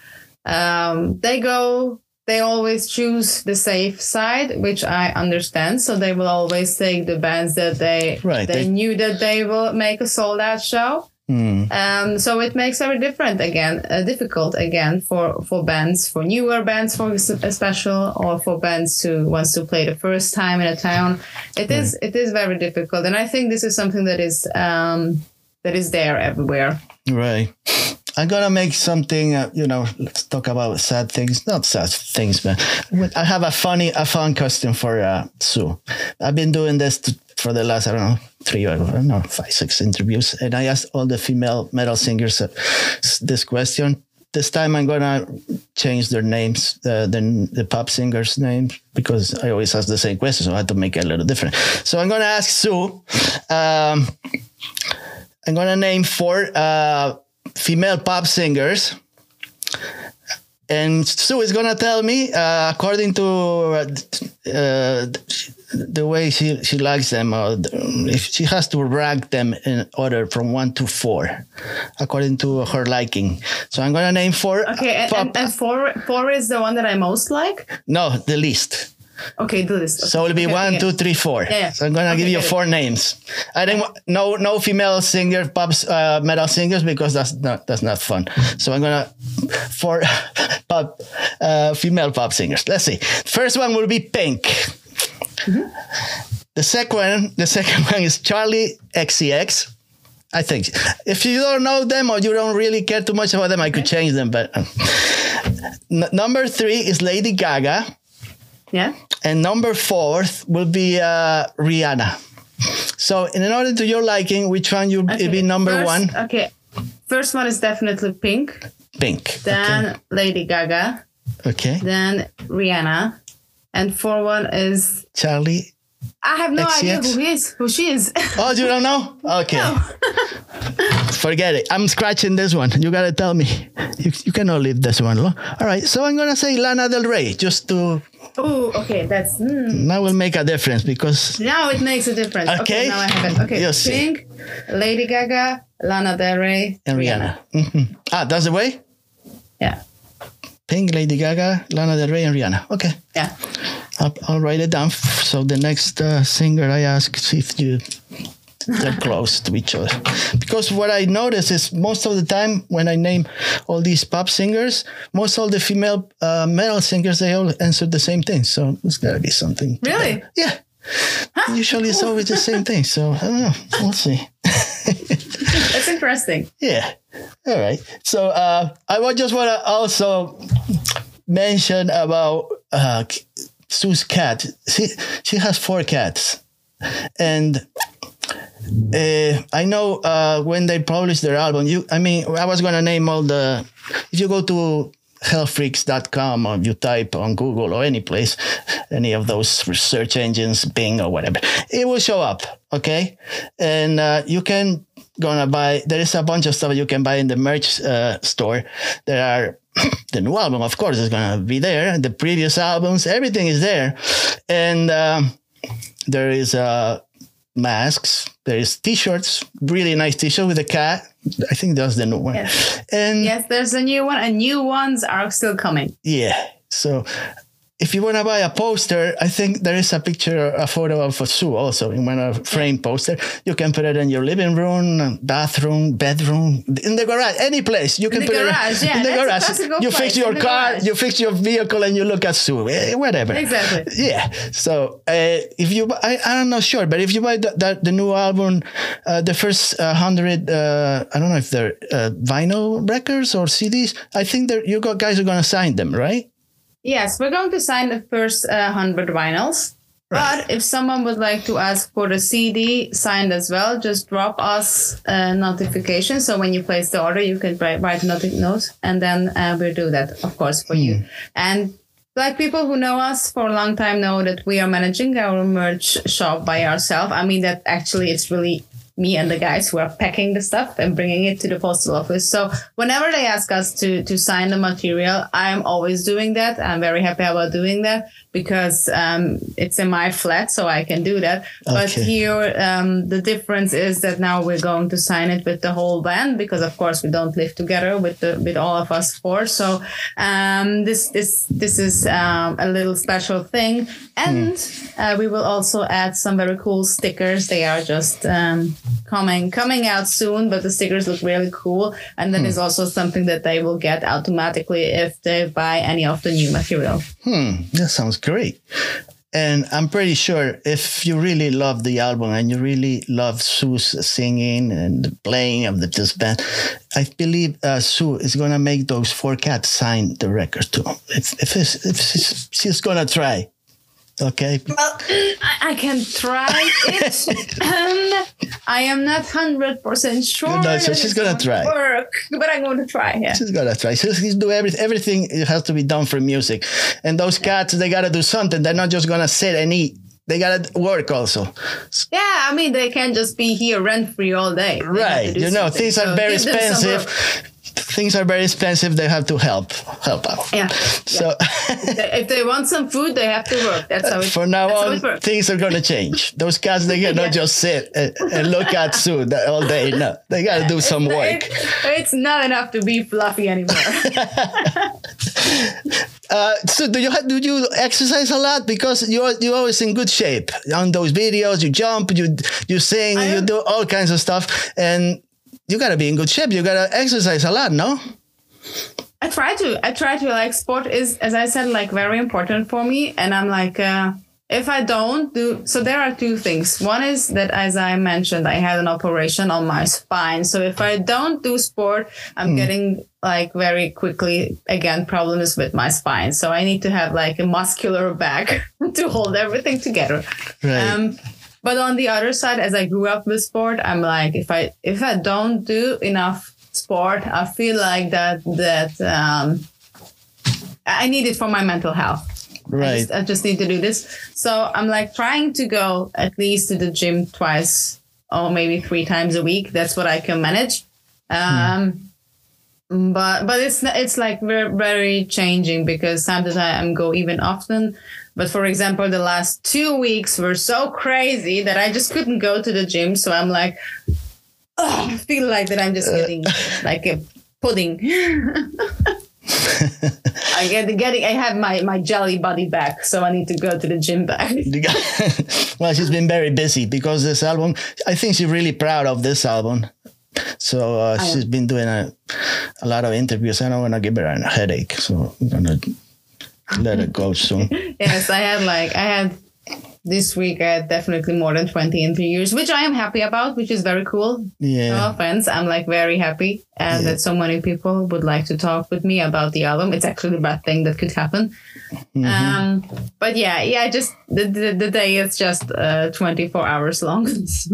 they always choose the safe side, which I understand. So they will always take the bands that they knew that they will make a sold out show. So it makes very difficult again for bands, for newer bands, for special, or for bands who wants to play the first time in a town. It is very difficult, and I think this is something that is there everywhere. Right. I'm gonna make something. Let's talk about sad things. Not sad things, but I have a fun question for Sue. I've been doing this for the last, I don't know, 5, 6 interviews. And I asked all the female metal singers this question. This time I'm going to change their names, the pop singers' names, because I always ask the same question, so I had to make it a little different. So I'm going to ask Sue. I'm going to name 4 female pop singers. And Sue is going to tell me, according to the way she likes them, or if she has to rank them in order from 1 to 4, according to her liking. So I'm going to name 4. Okay, and 4 is the one that I most like? No, the least. Okay, do this. Okay. So it'll be 1, 2, 3, 4. Yeah. So I'm gonna give you 4 names. I think no female singer, metal singers, because that's not fun. So I'm gonna 4 female pop singers. Let's see. First one will be Pink. Mm-hmm. The second one is Charlie XCX. I think if you don't know them or you don't really care too much about them, I could change them. But number 3 is Lady Gaga. Yeah. And number 4 will be Rihanna. So in order to your liking, which one will be number 1? Okay. First one is definitely Pink. Then Lady Gaga. Okay. Then Rihanna. And 4 one is Charlie. I have no idea who she is. Oh, you don't know? Okay. No. Forget it. I'm scratching this one. You got to tell me. You cannot leave this one alone. All right. So I'm going to say Lana Del Rey just to... Oh, okay. That's... That will make a difference because... Now it makes a difference. Okay. Now I have it. Okay. You'll Pink, Lady Gaga, Lana Del Rey, and Rihanna. Mm-hmm. That's the way? Yeah. Pink, Lady Gaga, Lana Del Rey, and Rihanna. Okay. Yeah. I'll write it down. So the next singer I ask, see if they're close to each other. Because what I notice is most of the time when I name all these pop singers, most of the female metal singers, they all answer the same thing. So there's got to be something. Really? Yeah. Huh? Usually it's always the same thing. So I don't know. We'll see. That's interesting. Yeah. All right. So I just want to also mention about Sue's cat. She has 4 cats. And I know when they published their album, I was going to name all the... If you go to hellfreaks.com or you type on Google or any place, any of those search engines, Bing or whatever, it will show up, okay? And you can gonna buy... There is a bunch of stuff you can buy in the merch store. There are... The new album, of course, is going to be there. The previous albums, everything is there. And there is masks. There is T-shirts, really nice T-shirt with a cat. I think that's the new one. Yes. And yes, there's a new one, and new ones are still coming. Yeah. So if you want to buy a poster, I think there is a photo of Sue also in one frame poster. You can put it in your living room, bathroom, bedroom, in the garage, any place. You can put it in the garage. You fix your car, you fix your vehicle, and you look at Sue, whatever. Exactly. Yeah. So if you, I'm not sure, but if you buy the new album, the first 100, I don't know if they're vinyl records or CDs. I think you guys are going to sign them, right? Yes, we're going to sign the first 100 vinyls. Right. But if someone would like to ask for the CD signed as well, just drop us a notification. So when you place the order, you can write note, and then we'll do that, of course, for you. And like people who know us for a long time know that we are managing our merch shop by ourselves. I mean, that actually it's really me and the guys who are packing the stuff and bringing it to the postal office. So whenever they ask us to sign the material, I'm always doing that. I'm very happy about doing that because it's in my flat, so I can do that. Okay. But here, the difference is that now we're going to sign it with the whole band because, of course, we don't live together with all of us 4. So this is a little special thing. And we will also add some very cool stickers. They are just coming out soon, but the stickers look really cool. And that is also something that they will get automatically if they buy any of the new material. That sounds great. And I'm pretty sure if you really love the album and you really love Sue's singing and the playing of this band, I believe Sue is going to make those 4 cats sign the record too. If she's going to try. Okay. Well, I can try it. I am not 100% sure. No, so she's gonna try. Work, but I'm going to try. Yeah. She's gonna try. She's do everything. It has to be done for music, and those cats, they gotta do something. They're not just gonna sit and eat. They gotta work also. Yeah, I mean, they can't just be here rent free all day. Right. You know, things are very expensive. Things are very expensive. They have to help out. Yeah. So if they want some food, they have to work. That's how it. For now on, things are going to change. Those cats, they cannot just sit and look at Sue all day. No, they got to do some work. It's not enough to be fluffy anymore. So do you exercise a lot? Because you're always in good shape on those videos. You jump, you sing, you do all kinds of stuff, and you gotta be in good shape. You gotta exercise a lot, no? I try to. Like, sport is, as I said, like, very important for me, and I'm like, if I don't do, so there are two things. One is that, as I mentioned, I had an operation on my spine. So if I don't do sport, I'm getting, like, very quickly, again, problems with my spine. So I need to have, like, a muscular back to hold everything together. Right. But on the other side, as I grew up with sport, I'm like, if I don't do enough sport, I feel like that I need it for my mental health. Right. I just need to do this. So I'm like trying to go at least to the gym twice or maybe 3 times a week. That's what I can manage. But it's like very, very changing, because sometimes I go even often. But for example, the last 2 weeks were so crazy that I just couldn't go to the gym. So I'm like, I feel like that I'm just getting like a pudding. I have my jelly body back, so I need to go to the gym back. Well, she's been very busy because this album, I think she's really proud of this album. So she's been doing a lot of interviews. I don't want to give her a headache, so I'm going to let it go soon. Yes, I had this week, I had definitely more than 20 interviews, which I am happy about, which is very cool. Yeah. No offense. I'm like very happy that so many people would like to talk with me about the album. It's actually the best thing that could happen. Mm-hmm. But yeah, just the day is just 24 hours long.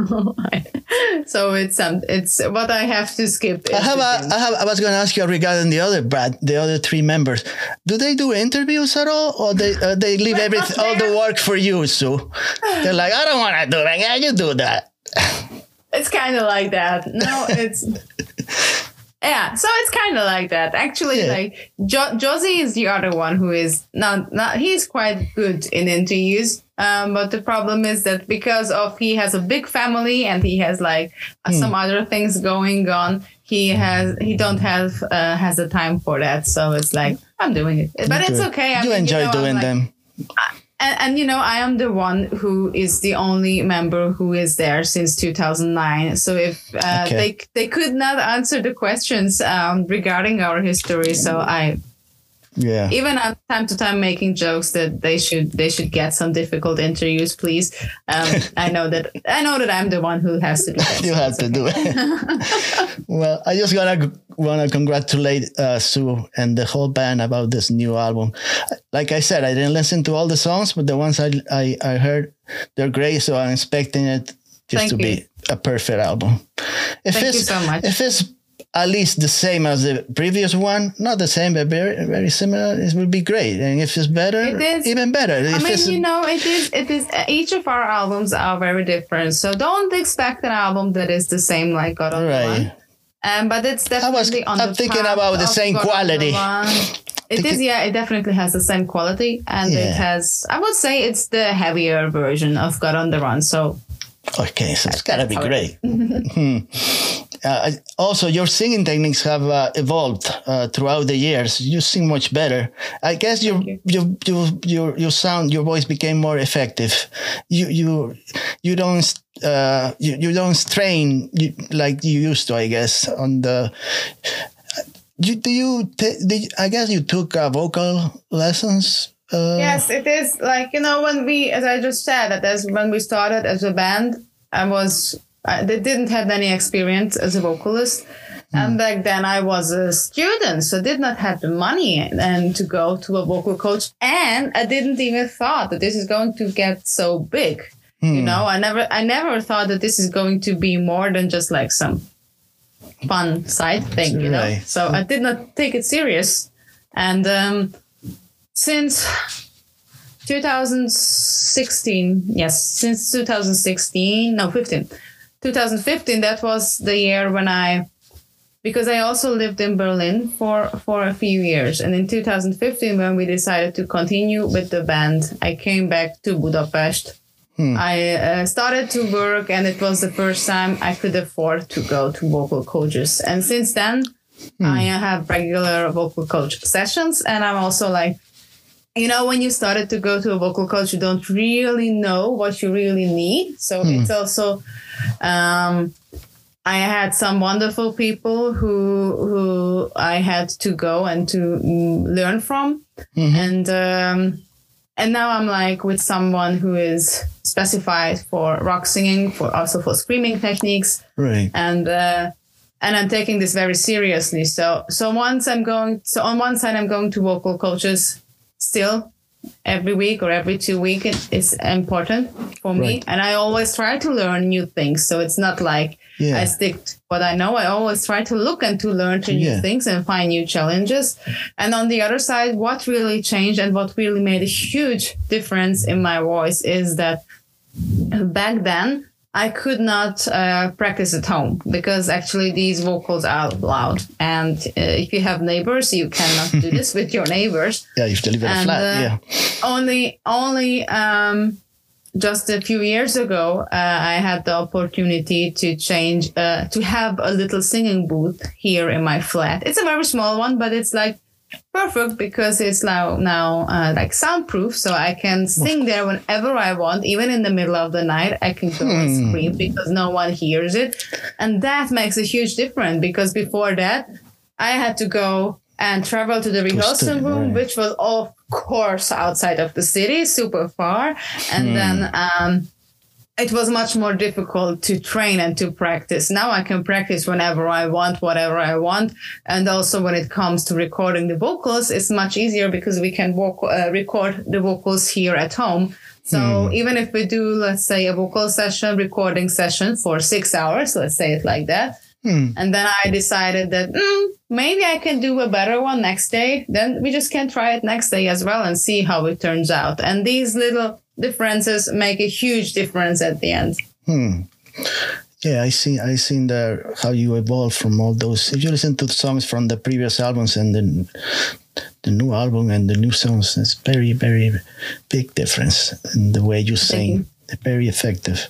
So it's what I have to skip. I was going to ask you regarding the other 3 members. Do they do interviews at all, or they leave all the work for you, Sue? They're like, I don't want to do that. Yeah, you do that. It's kind of like that. No, it's yeah. So it's kind of like that. Actually, like Josie is the other one who is not. He's quite good in interviews. But the problem is that because he has a big family and he has like some other things going on, he don't have the time for that. So it's like, I'm doing it, but it's okay. You enjoy doing them. And I am the one who is the only member who is there since 2009. So if they could not answer the questions regarding our history, so even on time to time making jokes that they should get some difficult interviews, please. I know that I'm the one who has to do that. You have to do it. Well, I just want to congratulate Sue and the whole band about this new album. Like I said, I didn't listen to all the songs, but the ones I heard, they're great. So I'm expecting it just to be a perfect album. Thank you so much. If it's at least the same as the previous one, not the same, but very, very similar, it would be great. And if it's better, even better. It is. Each of our albums are very different. So don't expect an album that is the same like God on the One. But it's definitely I'm thinking about the same quality. It is, it definitely has the same quality. And it has, I would say it's the heavier version of God on the Run. So okay, so it's gotta be great. Also, your singing techniques have evolved throughout the years. You sing much better. I guess your voice became more effective. You don't strain like you used to. I guess on the. I guess you took vocal lessons. Yes, it is like, when we, as I just said, when we started as a band, they didn't have any experience as a vocalist. And back then I was a student, so did not have the money and to go to a vocal coach. And I didn't even thought that this is going to get so big. You know, I never thought that this is going to be more than just like some fun side thing, you know. So I did not take it serious. And since 2016, since 2015, that was the year when because I also lived in Berlin for a few years. And in 2015, when we decided to continue with the band, I came back to Budapest. I started to work, and it was the first time I could afford to go to vocal coaches. And since then, I have regular vocal coach sessions. And I'm also like, you know, when you started to go to a vocal coach, you don't really know what you really need. So it's also, I had some wonderful people who I had to go and to learn from. And now I'm like with someone who is specified for rock singing, also for screaming techniques. Right. And I'm taking this very seriously. So on one side I'm going to vocal coaches still every week or every 2 weeks. It's important for me. And I always try to learn new things. So it's not like I stick to what I know. I always try to look and to learn new things and find new challenges. And on the other side, what really changed and what really made a huge difference in my voice is that back then I could not practice at home because actually these vocals are loud. And if you have neighbors, you cannot do this with your neighbors. Yeah, you have to live in a flat. Only just a few years ago, I had the opportunity to change, to have a little singing booth here in my flat. It's a very small one, but it's like perfect because it's now like soundproof. So I can sing there whenever I want, even in the middle of the night. I can go and scream because no one hears it. And that makes a huge difference because before that, I had to go and travel to the rehearsal room, which was of course outside of the city, super far. And then it was much more difficult to train and to practice. Now I can practice whenever I want, whatever I want. And also when it comes to recording the vocals, it's much easier because we can record the vocals here at home. So even if we do, let's say, a vocal session, recording session for 6 hours, let's say it like that. And then I decided that maybe I can do a better one next day. Then we just can try it next day as well and see how it turns out. And these little differences make a huge difference at the end. Yeah, I seen how you evolved from all those. If you listen to the songs from the previous albums and the new album and the new songs, it's very, very big difference in the way you sing. Very effective.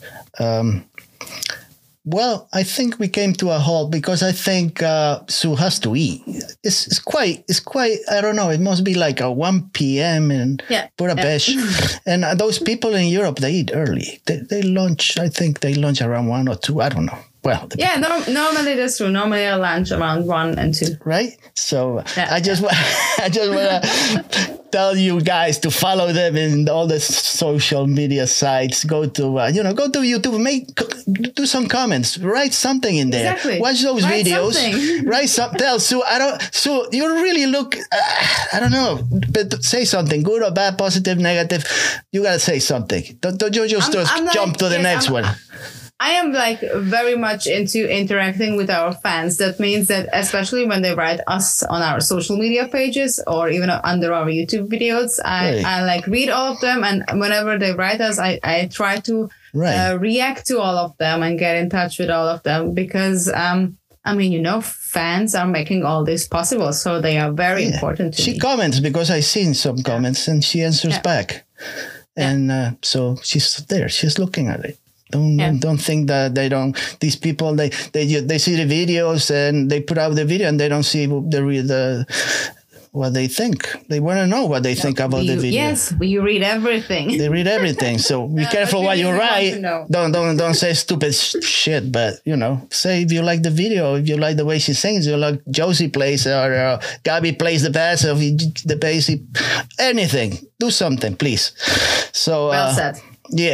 Well, I think we came to a halt because I think Sue has to eat. It's quite. I don't know. It must be like a 1 p.m. in Budapest, and those people in Europe, they eat early. They lunch. I think they lunch around 1 or 2. I don't know. Well, normally that's true. Normally I lunch around 1 and 2. Right. So I just want to tell you guys to follow them in all the social media sites. Go to YouTube. Do some comments. Write something in there. Exactly. Watch those videos. Write something. Tell Sue. Sue, you really look. I don't know, but say something. Good or bad, positive, negative. You gotta say something. Don't you just jump to the next one. I am like very much into interacting with our fans. That means that especially when they write us on our social media pages or even under our YouTube videos, I like read all of them. And whenever they write us, I try to react to all of them and get in touch with all of them because, fans are making all this possible. So they are very important to me. She comments because I seen some comments and she answers back. And so she's there. She's looking at it. Don't think that they don't. These people they see the videos and they put out the video and they don't see what they think. They want to know what they think about the video. Yes, we read everything. They read everything. So be careful what you write. Don't say stupid shit. But say if you like the video, if you like the way she sings, you like Josie plays or Gabby plays the bass or the bass, anything. Do something, please. So well said. Yeah.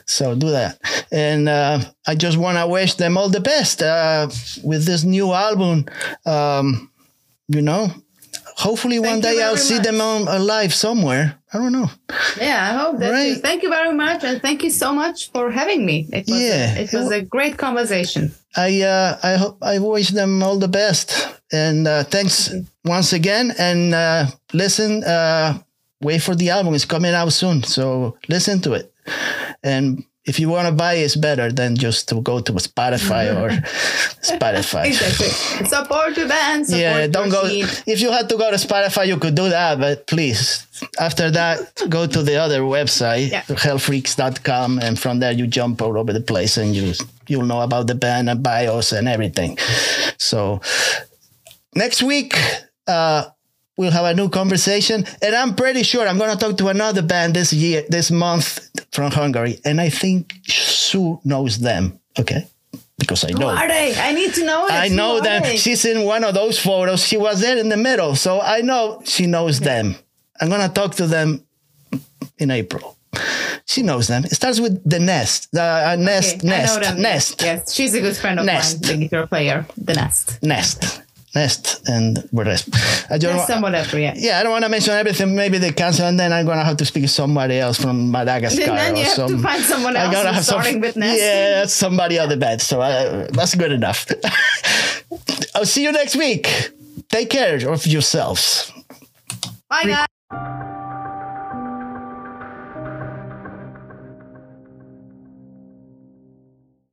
So do that. And I just want to wish them all the best with this new album. You know, hopefully one day I'll see them alive somewhere. I don't know. Yeah, I hope that too. Thank you very much, and thank you so much for having me. It was a great conversation. I wish them all the best, and thanks once again. And listen, wait for the album. It's coming out soon, so listen to it. And if you want to buy it, it's better than just to go to Spotify or Spotify. Exactly. Support the band. Support don't go. If you had to go to Spotify, you could do that, but please, after that, go to the other website, hellfreaks.com, and from there you jump all over the place, and you'll know about the band and bios and everything. So next week, we'll have a new conversation, and I'm pretty sure I'm going to talk to another band this month from Hungary, and I think Sue knows them. Okay. Because I know. Who are they? I need to know it. I know them. She's in one of those photos. She was there in the middle. So I know she knows them. I'm going to talk to them in April. She knows them. It starts with the Nest. Nest. I know them. Nest. Yes, she's a good friend of mine, the guitar player. The Nest and the rest. I don't want to mention everything. Maybe they cancel, and then I'm going to have to speak to somebody else from Madagascar. And then you have to find someone else starting with Nest. Yeah, somebody on the bed. So that's good enough. I'll see you next week. Take care of yourselves. Bye, guys.